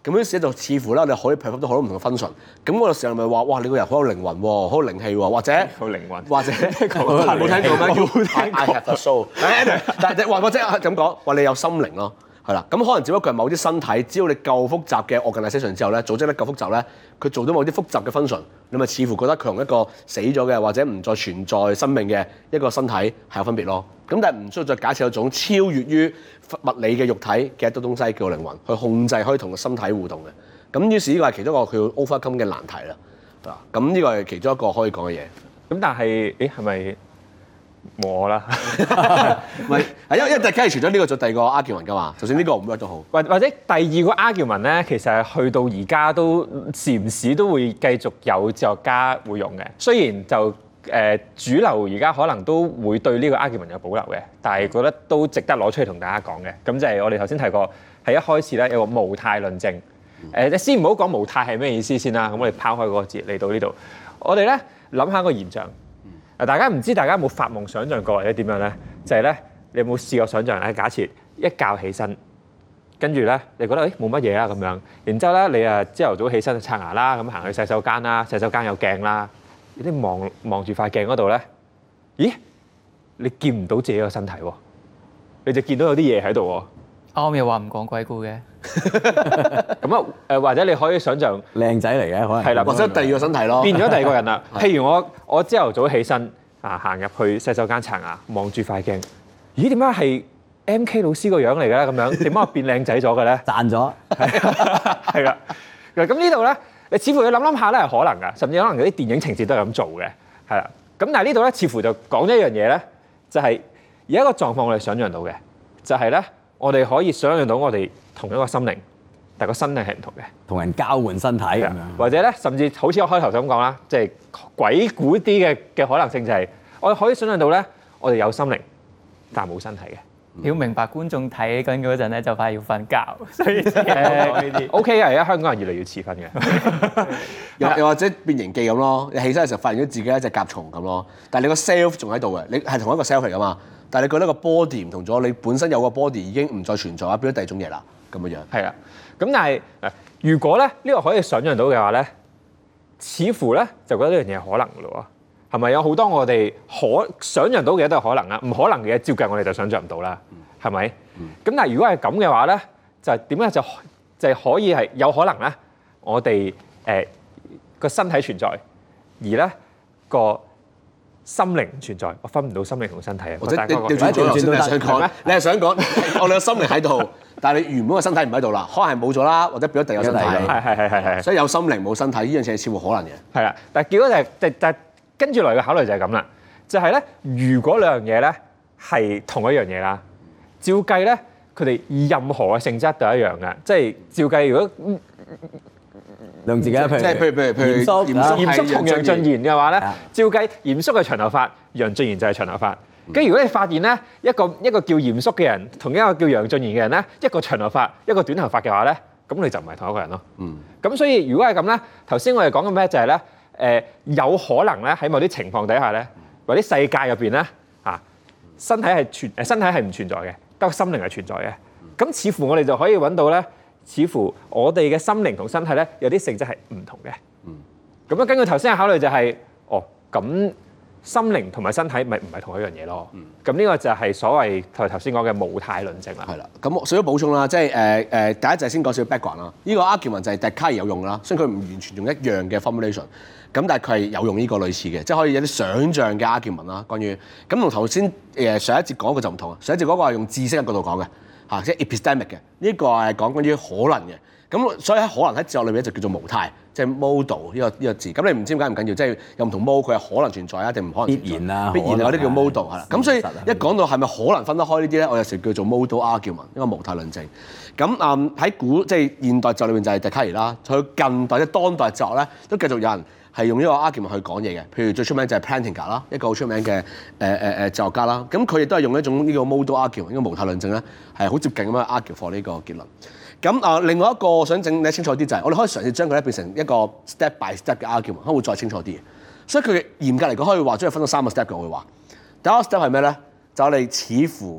咁於是就似乎咧，我哋可以 perform 到好多唔同嘅 function。咁嗰個時候咪話，哇！你個人好有靈魂喎，好有靈氣喎，或者好靈魂， 或者冇聽過咩？冇聽過。I have a soul。但係或或者咁講，話你有心靈咯。係啦，咁可能只不過係某啲身體，只要你夠複雜嘅 organisation 之後咧，組織得夠複雜咧，佢做到某啲複雜嘅 function，你咪似乎覺得佢同一個死咗嘅或者唔再存在生命嘅一個身體係有分別咯。咁但係唔需要再假設有種超越於物理嘅肉體嘅一種東西叫靈魂，去控制可以同個身體互動嘅。咁於是呢個係其中一個佢要 overcome 嘅難題啦。啊，咁呢個係其中一個可以講嘅嘢。 咁但係，誒係咪？冇我啦， 唔係，係因為因為大家除咗呢個做第二個 argument 㗎嘛，就算呢個唔 work 都好。 或或者第二個 argument 咧，其實係去到而家都時唔時都會繼續有哲學家會用嘅。雖然就誒、呃、主流而家可能都會對呢個 argument 有保留嘅，但係覺得都值得攞出嚟同大家講嘅。咁就係我哋頭先提過，係一開始咧有個無態論證。誒、呃，先唔好講無態係咩意思先啦。咁我哋拋開嗰個字嚟到呢度，我哋咧諗下個現象。嗱，大家唔知大家有冇發夢想像過或者點樣咧？就係、是、咧，你有冇試過想像咧？假設一覺起身，跟住咧，你覺得誒冇乜嘢啊咁樣，然之後咧，你啊朝頭早起身刷牙啦，咁行去洗手間啦，洗手間有鏡啦，你望望住塊鏡嗰度咧，咦？你見唔到自己個身體喎，你就見到有啲嘢喺度喎。 啱又話唔講鬼故嘅。 咁啊誒，或者你可以想像靚仔嚟嘅，可能係啦， 或者第二個身體咯， 變咗第二個人啦。譬如我我朝頭早起身啊，行入去洗手間刷牙，望住塊鏡，咦？點解係 M K 老師個樣嚟嘅咧？咁樣點解我變靚仔咗嘅咧？ 賺咗係啦。嗱咁呢度咧，你似乎要諗諗下咧，係可能㗎，甚至可能有啲電影情節都係咁做嘅，係啦。咁但係呢度咧，似乎就講咗一樣嘢咧，就係有一個狀況我哋想像到嘅，就係咧。我哋可以想像到我哋同一個心靈，但係個身體係唔同嘅， 同人交換身體咁樣， 或者咧，甚至好似我開頭咁講啦，即係鬼故啲嘅嘅可能性就係，我哋可以想像到咧，我哋有心靈，但係冇身體嘅。 要明白觀眾睇緊嗰陣咧，就快要瞓覺，所以誒呢啲 O K 啊，而家香港人越嚟越遲瞓嘅， 又又或者變形記咁咯，你起身嘅時候發現咗自己一隻甲蟲咁咯，但係你個 self 仲喺度嘅，你係同一個 self 嚟㗎嘛。但係你覺得個 body 唔同咗，你本身有個 body 已經唔再存在啊，變咗第二種嘢啦，咁嘅樣。係啦，咁但係如果咧呢、呢個可以想像到嘅話咧，似乎咧就覺得呢樣嘢係可能嘅咯喎，係咪有好多我哋可想像到嘅嘢都係可能啊？唔可能嘅嘢照計我哋就想像唔到啦，係咪？咁、嗯、但係如果係咁嘅話咧，就係點咧？就就係可以係有可能咧，我哋誒個身體存在，而咧個心靈唔存在，我分唔到心靈同身體啊！ 或者調轉咗頭先你係想講咩？你係想講我哋個心靈喺度，但係你原本個身體唔喺度啦，可能係冇咗啦，或者變咗第二個身體。 係係係係係。 所以有心靈冇身體呢樣嘢係似乎可能嘅。 係啦，但係結果就係就就跟住來嘅考慮就係咁啦，就係咧，如果兩樣嘢咧係同一樣嘢啦，照計咧佢哋任何嘅性質都一樣嘅，即係照計如果。 用自己譬如即係譬如譬如譬如嚴肅， 嚴肅同楊俊賢嘅話咧，照計嚴肅係長頭髮，楊俊賢就係長頭髮。跟住如果你發現咧，一個一個叫嚴肅嘅人，同一個叫楊俊賢嘅人咧，一個長頭髮，一個短頭髮嘅話咧，咁你就唔係同一個人咯。嗯。咁所以如果係咁咧，頭先我哋講嘅咩就係咧，誒有可能咧喺某啲情況底下咧，或者世界入邊咧嚇，身體係存誒身體係唔存在嘅，得個心靈係存在嘅。咁似乎我哋就可以揾到咧。似乎我哋嘅心靈同身體咧有啲性質係唔同嘅。嗯。咁樣根據頭先嘅考慮就係、是，哦，咁心靈同埋身體咪唔係同一樣嘢咯。嗯。咁呢個就係所謂頭頭先講嘅無態論證啦。係啦。咁我少咗補充啦，即係誒誒，第一就係先講少少 background 啦。呢個 argument 就係笛卡爾有用啦，雖然佢唔完全用一樣嘅 formulation，咁但係佢係有用呢個類似嘅，即係可以有啲想像嘅 argument 啦。關於咁同頭先誒上一節講嘅就唔同啊，上一節嗰個係用知識嘅角度講嘅。嚇，即係 epistemic 嘅，呢個係講關於可能嘅，咁所以喺可能喺哲學裏面就叫做無態，即係 modal 呢個呢個字。咁你唔知點解唔緊要，即係有唔同 mode，佢係可能存在啊，定唔可能存在？必然啊，必然啊，嗰啲叫 modal 係啦。咁所以一講到係咪可能分得開呢啲咧，我有時叫做 modal argument，一個無態論證。咁嗯喺古即係現代哲學裏面就係笛卡爾啦，佢近代即係當代哲學咧都繼續有人係用呢個 argument 去講嘢嘅。譬如最出名就係 Plantinga 啦，一個好出名嘅誒誒誒哲學家啦。咁佢亦都係用一種呢個 modal argument，呢個無態論證咧係好接近咁樣 argue for 呢個結論。咁啊、呃，另外一個我想整你清楚啲就係、是，我哋可以嘗試將佢咧變成一個 step by step 嘅 argument，可能會再清楚啲嘅。所以佢嘅嚴格嚟講可以話將佢分到三個 step 嘅，我會話。第一個 step 係咩咧？就我哋似乎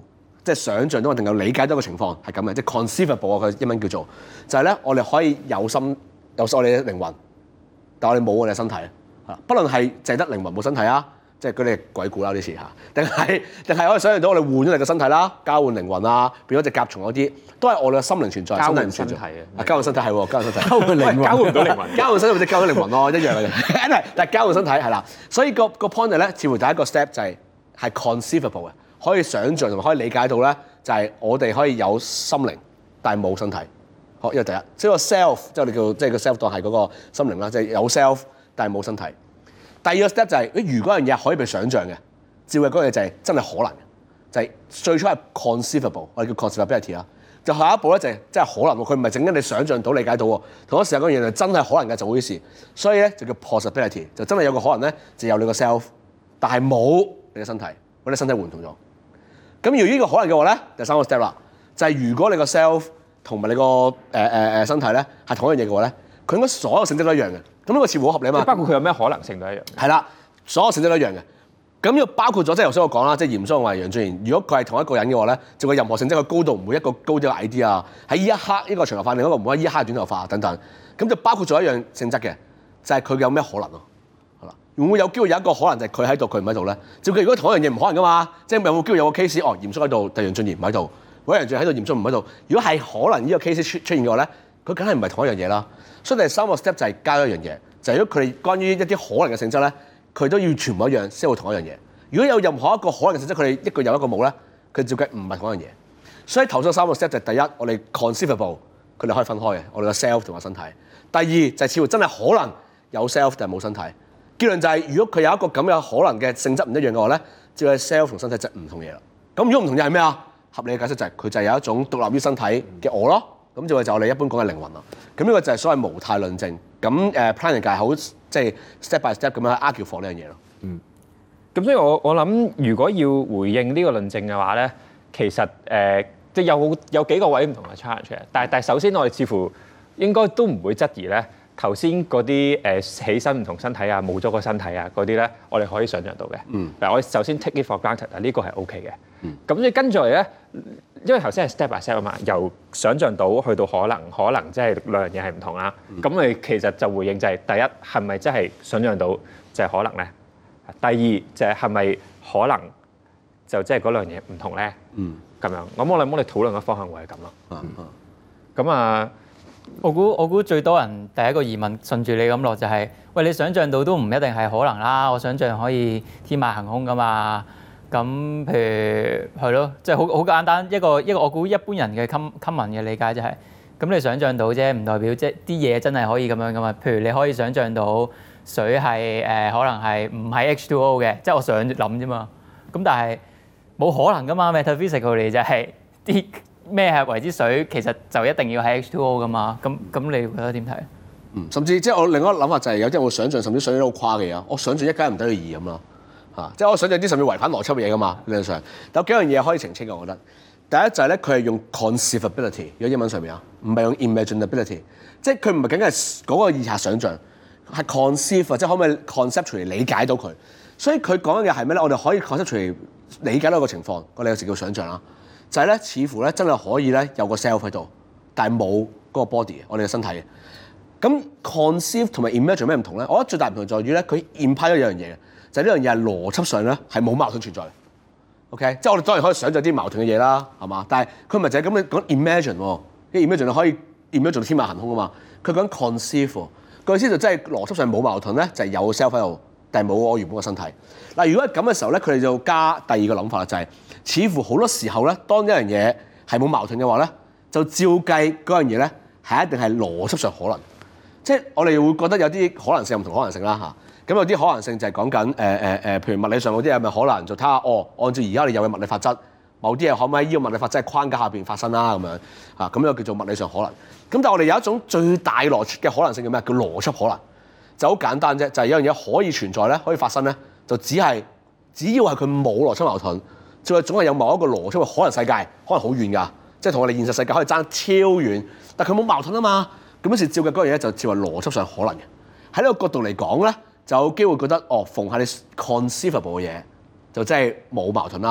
即係想像到定夠理解到個情況係咁嘅，即係 conceivable 啊，佢英文叫做就係咧，我哋可以有心有我哋嘅靈魂，但我哋冇我哋嘅身體啊。不論係淨係得靈魂冇身體啊，即係嗰啲鬼故啦啲事嚇，定係定係可以想像到我哋換咗你嘅身體啦，交換靈魂啊，變咗隻甲蟲嗰啲，都係我哋嘅心靈存在， 交換身體唔存在身體啊，交換身體係喎，交換身體， 交換靈魂， 交換唔到靈魂， 交換身體或者交換靈魂咯，一樣嘅啫。但係交換身體係啦，所以個個 point 咧，似乎第一個 step 就係係 conceivable 嘅，可以想像同埋可以理解到咧，就係我哋可以有心靈，但係冇身體。好，呢個第一，即係個 self，即係我哋叫即係個 self 當係嗰個心靈啦，即係有 self，但係冇身體。第二個 step 就係，如果樣嘢可以被想像嘅，照嘅嗰樣嘢就係真係可能嘅，就係最初係 conceivable，我哋叫 conceivability 啦。就下一步咧就係真係可能喎，佢唔係整緊你想像到理解到喎，同一時間嗰樣嘢就真係可能嘅做好啲事，所以咧就叫 possibility，就真係有個可能咧就有你個 self，但係冇你嘅身體，或者身體換同咗。咁如果呢個可能嘅話咧，第三個 step 啦，就係如果你個 self 同埋你個誒誒誒身體咧係同一樣嘢嘅話咧，佢應該所有性質都一樣嘅。咁呢個似乎好合理啊嘛。 包括佢有咩可能性都一樣。 係啦，所有性質都一樣嘅。咁要包括咗，即係頭先我講啦，即係嚴肅話楊俊賢，如果佢係同一個人嘅話咧，就佢任何性質嘅高度唔會一個高啲，一個矮啲啊。喺呢一刻呢個長頭髮，另一個唔會喺呢一刻短頭髮等等。咁就包括咗一樣性質嘅，就係佢有咩可能咯。係啦，會唔會有機會有一個可能就係佢喺度，佢唔喺度咧？照計如果同一樣嘢唔可能噶嘛，即係有冇機會有個 case 哦，嚴肅喺度，但楊俊賢唔喺度，或者楊俊賢喺度，嚴肅唔喺度。如果係可能呢個 case 出出現嘅話咧，佢梗係唔係同一樣嘢啦。所以第三個 step 就係加一樣嘢，就係如果佢哋關於一啲可能嘅性質咧，佢都要全部一樣先會同一樣嘢。如果有任何一個可能嘅性質，佢哋一個有一個冇咧，佢照計唔係同一樣嘢。所以頭先三個 step 就係第一，我哋 conceivable，佢哋可以分開嘅，我哋個 self 同個身體。第二就係似乎真係可能有 self 但係冇身體。結論就係如果佢有一個咁嘅可能嘅性質唔一樣嘅話咧，照係 self 同身體就唔同嘢啦。咁如果唔同嘢係咩啊？合理嘅解釋就係佢就係有一種獨立於身體嘅我咯。咁就係就我哋一般講嘅靈魂啦。咁呢個就係所謂無態論證。咁誒 planning 界好即係 step by step 咁樣 argue for 呢樣嘢咯。嗯。 咁所以我我諗，如果要回應呢個論證嘅話咧，其實誒即係有有幾個位唔同嘅 challenge 嘅。但係但係首先我哋似乎應該都唔會質疑咧，頭先嗰啲誒起身唔同身體啊，冇咗個身體啊嗰啲咧，我哋可以想像到嘅。嗯。嗱，我首先 take it for granted 啊，呢個係 OK 嘅。嗯。咁所以跟住嚟咧，因為頭先係 step by step 啊嘛，由想像到去到可能，可能即係兩樣嘢係唔同啦。咁我哋其實就回應就係第一係咪真係想像到就係可能咧？第二就係係咪可能就即係嗰兩樣嘢唔同咧？嗯，咁樣，咁我哋我哋討論嘅方向會係咁咯。嗯嗯。咁啊， 我估我估最多人第一個疑問順住你咁落就係、是，喂，你想像到都唔一定係可能啦。我想像可以天馬行空噶嘛。咁譬如係咯，即係好好簡單一個一個我估一般人嘅 common 嘅理解就係、是，咁你想像到啫，唔代表即係啲嘢真係可以咁樣噶嘛。譬如你可以想像到。水係誒、呃、可能係唔係 H 二 O 嘅，即係我想諗啫嘛。咁但係冇可能噶嘛 ，metaphysical 就係啲咩係為之水，其實就一定要係 H 二 O 噶嘛。咁咁你覺得點睇？ 嗯，甚至即係我另一個諗法就係、是、有啲人會想像，甚至想像啲好誇嘅嘢。我想像一加一唔等於二咁咯，嚇！即係我想像啲甚至違反邏輯嘅嘢噶嘛，理論上。但有幾樣嘢可以澄清嘅，我覺得。第一就係咧，佢係用 conceivability，如果英文上面啊，唔係用 imaginability，即係佢唔係僅僅係嗰個意下想像。係 conceive 即係可唔可以 conceptually 理解到佢？所以佢講嘅係咩咧？我哋可以 conceptually 理解到個情況，我哋有時叫想像啦。就係、是、咧，似乎咧真係可以咧有個 self 喺度，但係冇嗰個 body，我哋嘅身體嘅。咁 conceive 同埋 imagine 有咩唔同咧？我覺得最大唔同在於咧，佢 imply 咗一樣嘢嘅，就係呢樣嘢係邏輯上咧係冇矛盾存在嘅。OK，即係我哋當然可以想像啲矛盾嘅嘢啦，係嘛？但係佢唔係就係咁樣講 imagine 喎，啲 imagine 可以 imagine 到天馬行空啊嘛。佢講 conceive。個意思就真係邏輯上冇矛盾咧，就係、是、有 self 喺度，但係冇我原本個身體。嗱，如果係咁嘅時候咧，佢哋就加第二個諗法啦，就係、是、似乎好多時候咧，當一樣嘢係冇矛盾嘅話咧，就照計嗰樣嘢咧係一定係邏輯上可能。即係我哋會覺得有啲可能性唔同可能性啦嚇。咁有啲可能性就係講緊誒誒誒，譬如物理上嗰啲係咪可能就睇下哦，按照而家你有嘅物理法則，某啲嘢可唔可以喺呢個物理法則框架下邊發生啦咁樣啊？咁又叫做物理上可能。咁但係我哋有一種最大邏輯嘅可能性叫咩？叫邏輯可能，就好簡單啫，就係、是、有樣嘢可以存在咧，可以發生咧，就只係只要係佢冇邏輯矛盾，就係總係有某一個邏輯嘅可能世界，可能好遠㗎，即係同我哋現實世界可以爭超遠，但係佢冇矛盾啊嘛。咁於是照嘅嗰樣嘢就照係邏輯上可能嘅。喺呢個角度嚟講咧，就有機會覺得哦，逢係你 conceivable 嘅嘢就真係冇矛盾啦，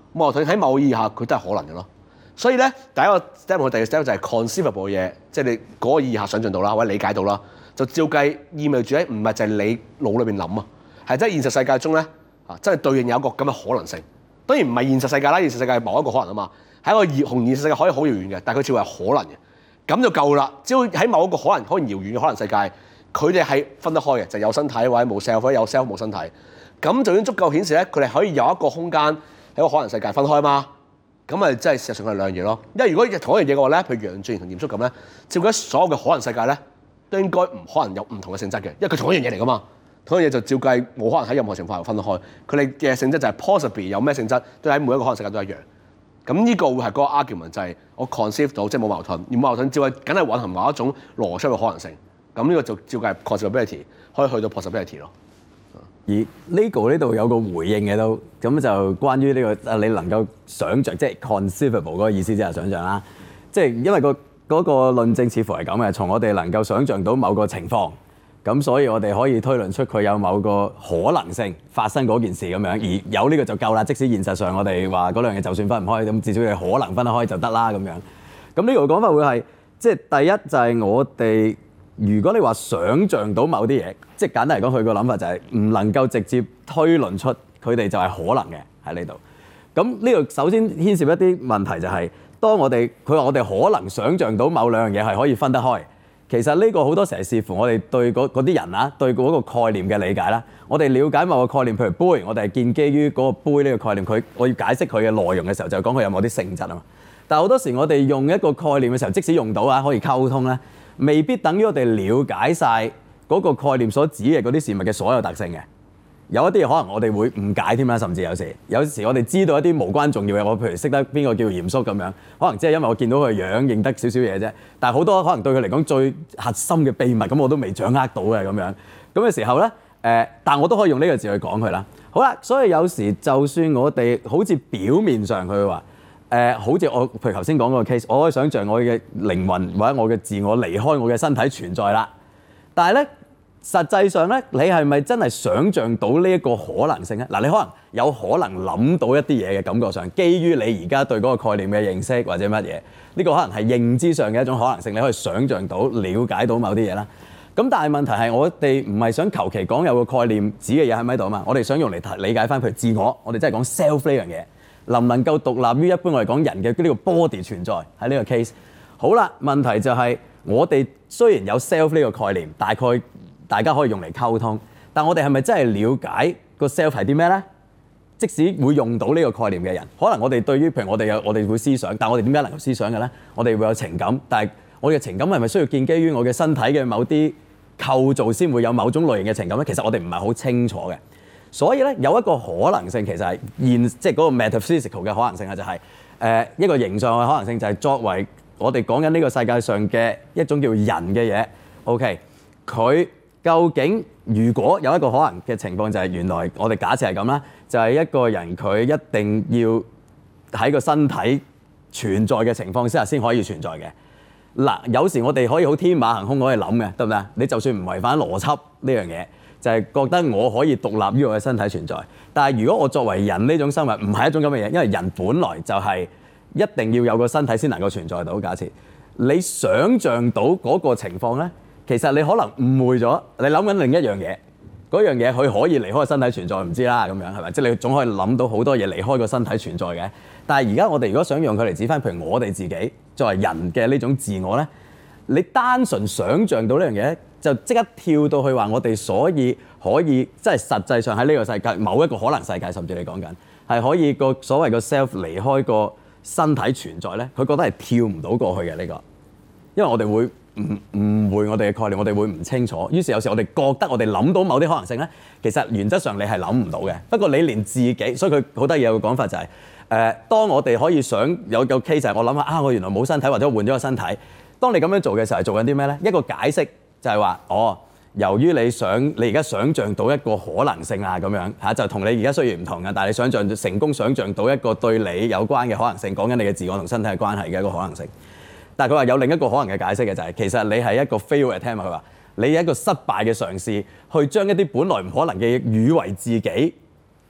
冇矛盾喺某個意義下佢都係可能嘅咯。所以咧，第一個 step 同第二個 step 就係 conceivable 嘅嘢，即係你嗰個意義下想像到啦，或者理解到啦，就照計意味住咧，唔係就係你腦裏邊諗啊，係真係現實世界中咧啊，真係對應有一個咁嘅可能性。當然唔係現實世界啦，現實世界係某一個可能啊嘛，係一個遙同現實世界可以好遙遠嘅，但係佢似乎係可能嘅，咁就夠啦。只要喺某一個可能可能遙遠嘅可能世界，佢哋係分得開嘅，就係有身體或者冇 self，或者有 self 冇身體，咁就已經足夠顯示咧，佢哋可以有一個空間喺個可能世界分開嘛。咁咪真係事實上係兩樣嘢咯。因為如果同一樣嘢嘅話咧，譬如楊俊賢同嚴肅咁咧，照計所有嘅可能世界咧，都應該唔可能有唔同嘅性質嘅，因為佢同一樣嘢嚟噶嘛。同一樣嘢就照計冇可能喺任何情況下分得開。佢哋嘅性質就係 possibly 有咩性質，都喺每一個可能世界都一樣。咁呢個會係嗰個 argument 就係我 conceive 到，即係冇矛盾，而冇矛盾照計梗係蘊含某一種邏輯嘅可能性。咁呢個就照計 possibility 可以去到 possibility 咯。 而 Lego 呢度有個回應嘅都，咁就關於呢個啊，你能夠想像，即係 conceivable 嗰個意思即係想像啦。即係因為個嗰個論證似乎係咁嘅，從我哋能夠想像到某個情況，咁所以我哋可以推論出佢有某個可能性發生嗰件事咁樣，而有呢個就夠啦。即使現實上我哋話嗰兩樣就算分唔開，咁至少你可能分得開就得啦咁樣。咁呢個講法會係，即係第一就係我哋。如果你話想像到某啲嘢，即係簡單嚟講，佢個諗法就係唔能夠直接推論出佢哋就係可能嘅喺呢度。咁呢度首先牽涉一啲問題就係、是，當我哋佢話我哋可能想像到某兩樣嘢係可以分得開，其實呢個好多時係視乎我哋對嗰啲人啊，對嗰個概念嘅理解啦。我哋了解某個概念，譬如杯，我哋係建基於嗰個杯呢個概念，佢我要解釋佢嘅內容嘅時候，就講佢有某啲性質啊嘛。但係好多時我哋用一個概念嘅時候，即使用到啊，可以溝通咧，未必等於我哋了解晒嗰個概念所指嘅嗰啲事物嘅所有特性嘅。有一啲嘢可能我哋會誤解添啦，甚至有時有時我哋知道一啲無關重要嘅，我譬如識得邊個叫嚴肅咁樣，可能即係因為我見到佢樣認得少少嘢啫。但係好多可能對佢嚟講最核心嘅秘密，咁我都未掌握到嘅咁樣。咁嘅時候咧，誒、呃，但我都可以用呢個字去講佢啦。好啦，所以有時就算我哋好似表面上佢話。誒、呃，好似我譬如頭先講嗰個 case，我可以想像我嘅靈魂或者我嘅自我離開我嘅身體存在啦。但係咧，實際上咧，你係咪真係想像到呢一個可能性咧？嗱，你可能有可能諗到一啲嘢嘅感覺上，基於你而家對嗰個概念嘅認識或者乜嘢，呢、這個可能係認知上嘅一種可能性，你可以想像到、了解到某啲嘢啦。咁但係問題係，我哋唔係想求其講有個概念指嘅嘢喺咪度啊嘛，我哋想用嚟理解翻譬如自我，我哋真係講 self 呢樣嘢。能唔能夠獨立於一般我哋講人嘅呢個 body 存在喺呢個 case？ 好啦，問題就係、是、我哋雖然有 self 呢個概念，大概大家可以用嚟溝通，但我哋係咪真係了解個 self 係啲咩咧？即使會用到呢個概念嘅人，可能我哋對於譬如我哋有我哋會思想，但係我哋點解能夠思想嘅咧？我哋會有情感，但係我哋嘅情感係咪需要建基於我嘅身體嘅某啲構造先會有某種類型嘅情感咧？其實我哋唔係好清楚嘅。所以咧，有一個可能性，其實係現即係嗰個 metaphysical 嘅可能性啊，就係、是、誒、呃、一個形上嘅可能性，就係作為我哋講緊呢個世界上嘅一種叫人嘅嘢。OK，佢究竟如果有一個可能嘅情況，就係原來我哋假設係咁啦，就係、是、一個人佢一定要喺個身體存在嘅情況之下先可以存在嘅。嗱，有時我哋可以好天馬行空可以諗嘅，得唔得？你就算唔違反邏輯呢樣嘢。就係覺得我可以獨立於我嘅身體存在，但係如果我作為人呢種生物唔係一種咁嘅嘢，因為人本來就係一定要有個身體先能夠存在到。假設你想像到嗰個情況咧，其實你可能誤會咗，你諗緊另一樣嘢，嗰樣嘢佢可以離開個身體存在，唔知啦咁樣係咪？即係你總可以諗到好多嘢離開個身體存在嘅。但係而家我哋如果想用佢嚟指翻，譬如我哋自己作為人嘅呢種自我咧，你單純想像到呢樣嘢，就即刻跳到去話我哋所以可以即係實際上喺呢個世界某一個可能世界，甚至你講緊係可以個所謂個 self 離開個身體存在咧，佢覺得係跳唔到過去嘅呢個，因為我哋會誤誤會我哋嘅概念，我哋會唔清楚。於是有時我哋覺得我哋諗到某啲可能性咧，其實原則上你係諗唔到嘅。不過你連自己，所以佢好得意有個講法就係、是、誒、呃，當我哋可以想有個 case 就係我諗下啊，我原來冇身體或者我換咗個身體。當你咁樣做嘅時候係做緊啲咩咧？一個解釋。就係話，哦，由於你想你而家想像到一個可能性啊，咁樣嚇就同你而家雖然唔同嘅，但係你想像成功想像到一個對你有關嘅可能性，講緊你嘅自我同身體嘅關係嘅一個可能性。但係佢話有另一個可能嘅解釋嘅就係、是，其實你係一個 fail attempt。佢話你係一個失敗嘅嘗試，去將一啲本來唔可能嘅嘢，以為自己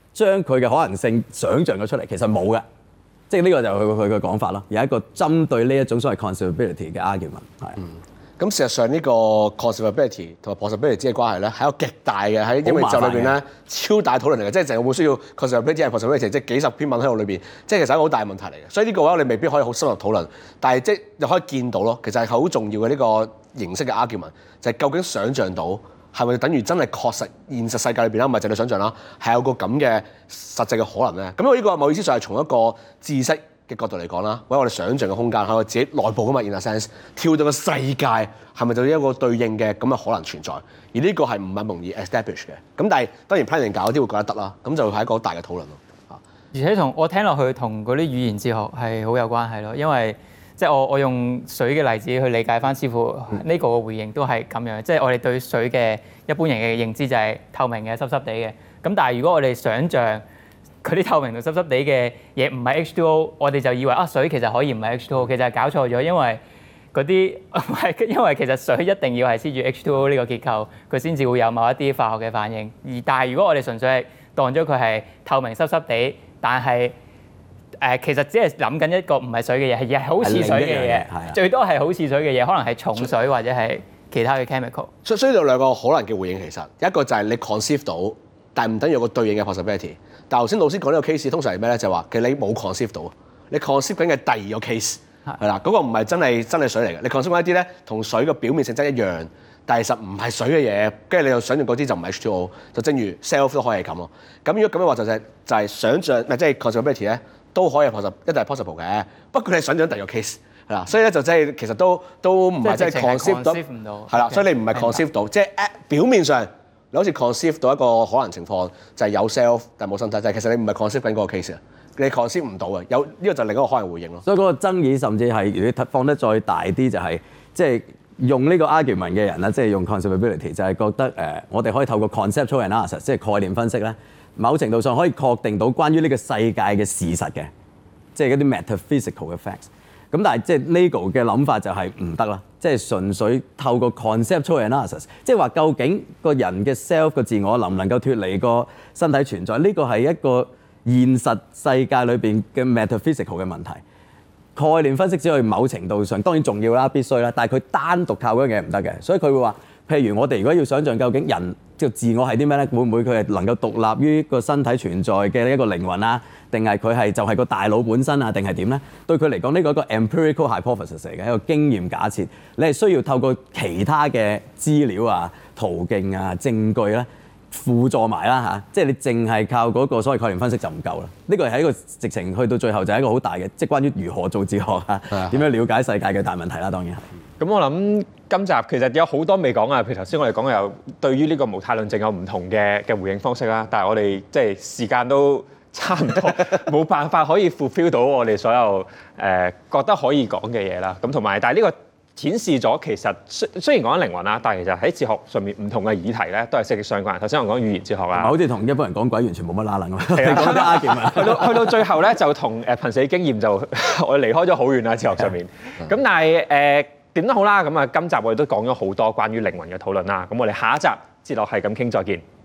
將佢嘅可能性想像咗出嚟，其實冇嘅。即係呢個就係佢佢嘅講法咯。有一個針對呢一種所謂 conceivability 嘅 argument 係。 嗯咁事實上呢個 conceivability 同埋 possibility 之間嘅關係咧，係一個極大嘅喺英文宇宙裏邊咧超大討論嚟嘅，即係成個本需要 conceivability 係 possibility，即係幾十篇文喺度裏邊，即係其實係一個好大嘅問題嚟嘅。所以呢個話我哋未必可以好深入討論，但係即係又可以見到咯，其實係好重要嘅呢個形式嘅 argument，就係究竟想像到係咪等於真係確實現實世界裏邊啦，唔係淨係想像啦，係有個咁嘅實際嘅可能咧。咁我呢個某意思上係從一個知識嘅角度嚟講啦，或者我哋想像嘅空間喺我自己內部噶嘛 in a sense， 跳到個世界係咪就一個對應嘅咁嘅可能存在？而呢個係唔係容易 establish 嘅？咁但係當然 planning 搞啲會覺得得啦，咁就係一個好大嘅討論咯。 而且同我聽落去同嗰啲語言哲學係好有關係咯，因為即係我我用水嘅例子去理解翻師傅呢個嘅回應都係咁樣，即係我哋對水嘅一般人嘅認知就係透明嘅、濕濕地嘅。咁但係如果我哋想像佢啲透明同濕濕地嘅嘢唔係 H 二 O， 我哋就以為啊水其實可以唔係 H 二 O， 其實係搞錯咗，因為嗰啲唔係因為其實水一定要係黐住 H 二 O 呢個結構，佢先至會有某一啲化學嘅反應。而但係如果我哋純粹係當咗佢係透明濕濕地，但係誒、呃、其實只係諗緊一個唔係水嘅嘢，係係好似水嘅嘢，最多係好似水嘅嘢，可能係重水或者係其他嘅 chemical。 所以所以有兩個可能嘅回應，其實一個就係你 conceive 到，但係唔等於有個對應嘅 possibility。但頭先老師講呢個 case 通常係咩咧？就係話其實你冇 conceive 到，你 conceive 緊嘅第二個 case 係啦，嗰個唔係真係真係水嚟嘅。你 conceive 緊一啲咧同水嘅表面性質一樣，但係實唔係水嘅嘢，跟住你又想象嗰啲就唔係 H 二 O， 就正如 self 都可以係咁咯。咁如果咁嘅話就係就係想像，即係 conceivability 咧都可以 possible，一定係 possible 嘅。不過你想像第二個 case 係啦，所以咧就即係其實都都唔係真係 conceive 到，係啦，所以你唔係 conceive 到，即係表面上。你好似 conceive 到一個可能情況，就係、是、有 self 但係冇身體，就係、是、其實你唔係 conceive 緊嗰個 case 啊，你 conceive 唔到嘅，有呢、這個就另一個可能回應咯。 所以嗰個爭議甚至係如果你放得再大啲，就係即係用呢個 argument 嘅人啦，即、就、係、是、用 conceivability 就係覺得誒、呃，我哋可以透過 conceptual analysis 即係概念分析咧，某程度上可以確定到關於呢個世界嘅事實嘅，即係嗰啲 metaphysical 嘅 facts。咁但係即係 legal 嘅諗法就係唔得啦，即係純粹透過 conceptual analysis，即係話究竟個人嘅 self 個自我能唔能夠脫離個身體存在？呢個係一個現實世界裏邊嘅 metaphysical 嘅問題。概念分析只可以某程度上當然重要啦，必須啦，但係佢單獨靠嗰樣嘢唔得嘅，所以佢會話，譬如我哋如果要想像究竟人即係自我係啲咩咧，會唔會佢係能夠獨立於個身體存在嘅一個靈魂啊？定係佢係就係個大腦本身啊？定係點咧？對佢嚟講，呢個係一個 empirical hypothesis 嚟嘅，一個經驗假設。你係需要透過其他嘅資料啊、途徑啊、證據咧輔助埋啦嚇。即係你淨係靠嗰個所謂概念分析就唔夠啦。呢個係一個直情去到最後就係一個好大嘅，即係關於如何做哲學啊，點樣了解世界嘅大問題啦。當然係。咁我諗今集其實有好多未講啊，譬如頭先我哋講嘅有對於呢個無態論證有唔同嘅嘅回應方式啦。但係我哋即係時間都差唔多，冇辦法可以 fulfill 到我哋所有誒、呃、覺得可以講嘅嘢啦。咁同埋，但係呢個顯示咗其實雖雖然講緊靈魂啦，但係其實喺哲學上面唔同嘅議題咧，都係息息相關。頭先我講語言哲學啦， 好似同一般人講鬼完全冇乜拉楞咁。係啊，講啲 argument 去到去到最後咧，就同誒瀕死經驗就我哋離開咗好遠啦，哲學上面。咁但係誒點都好啦，咁啊今集我哋都講咗好多關於靈魂嘅討論啦。咁我哋下一集哲學係咁傾，再見。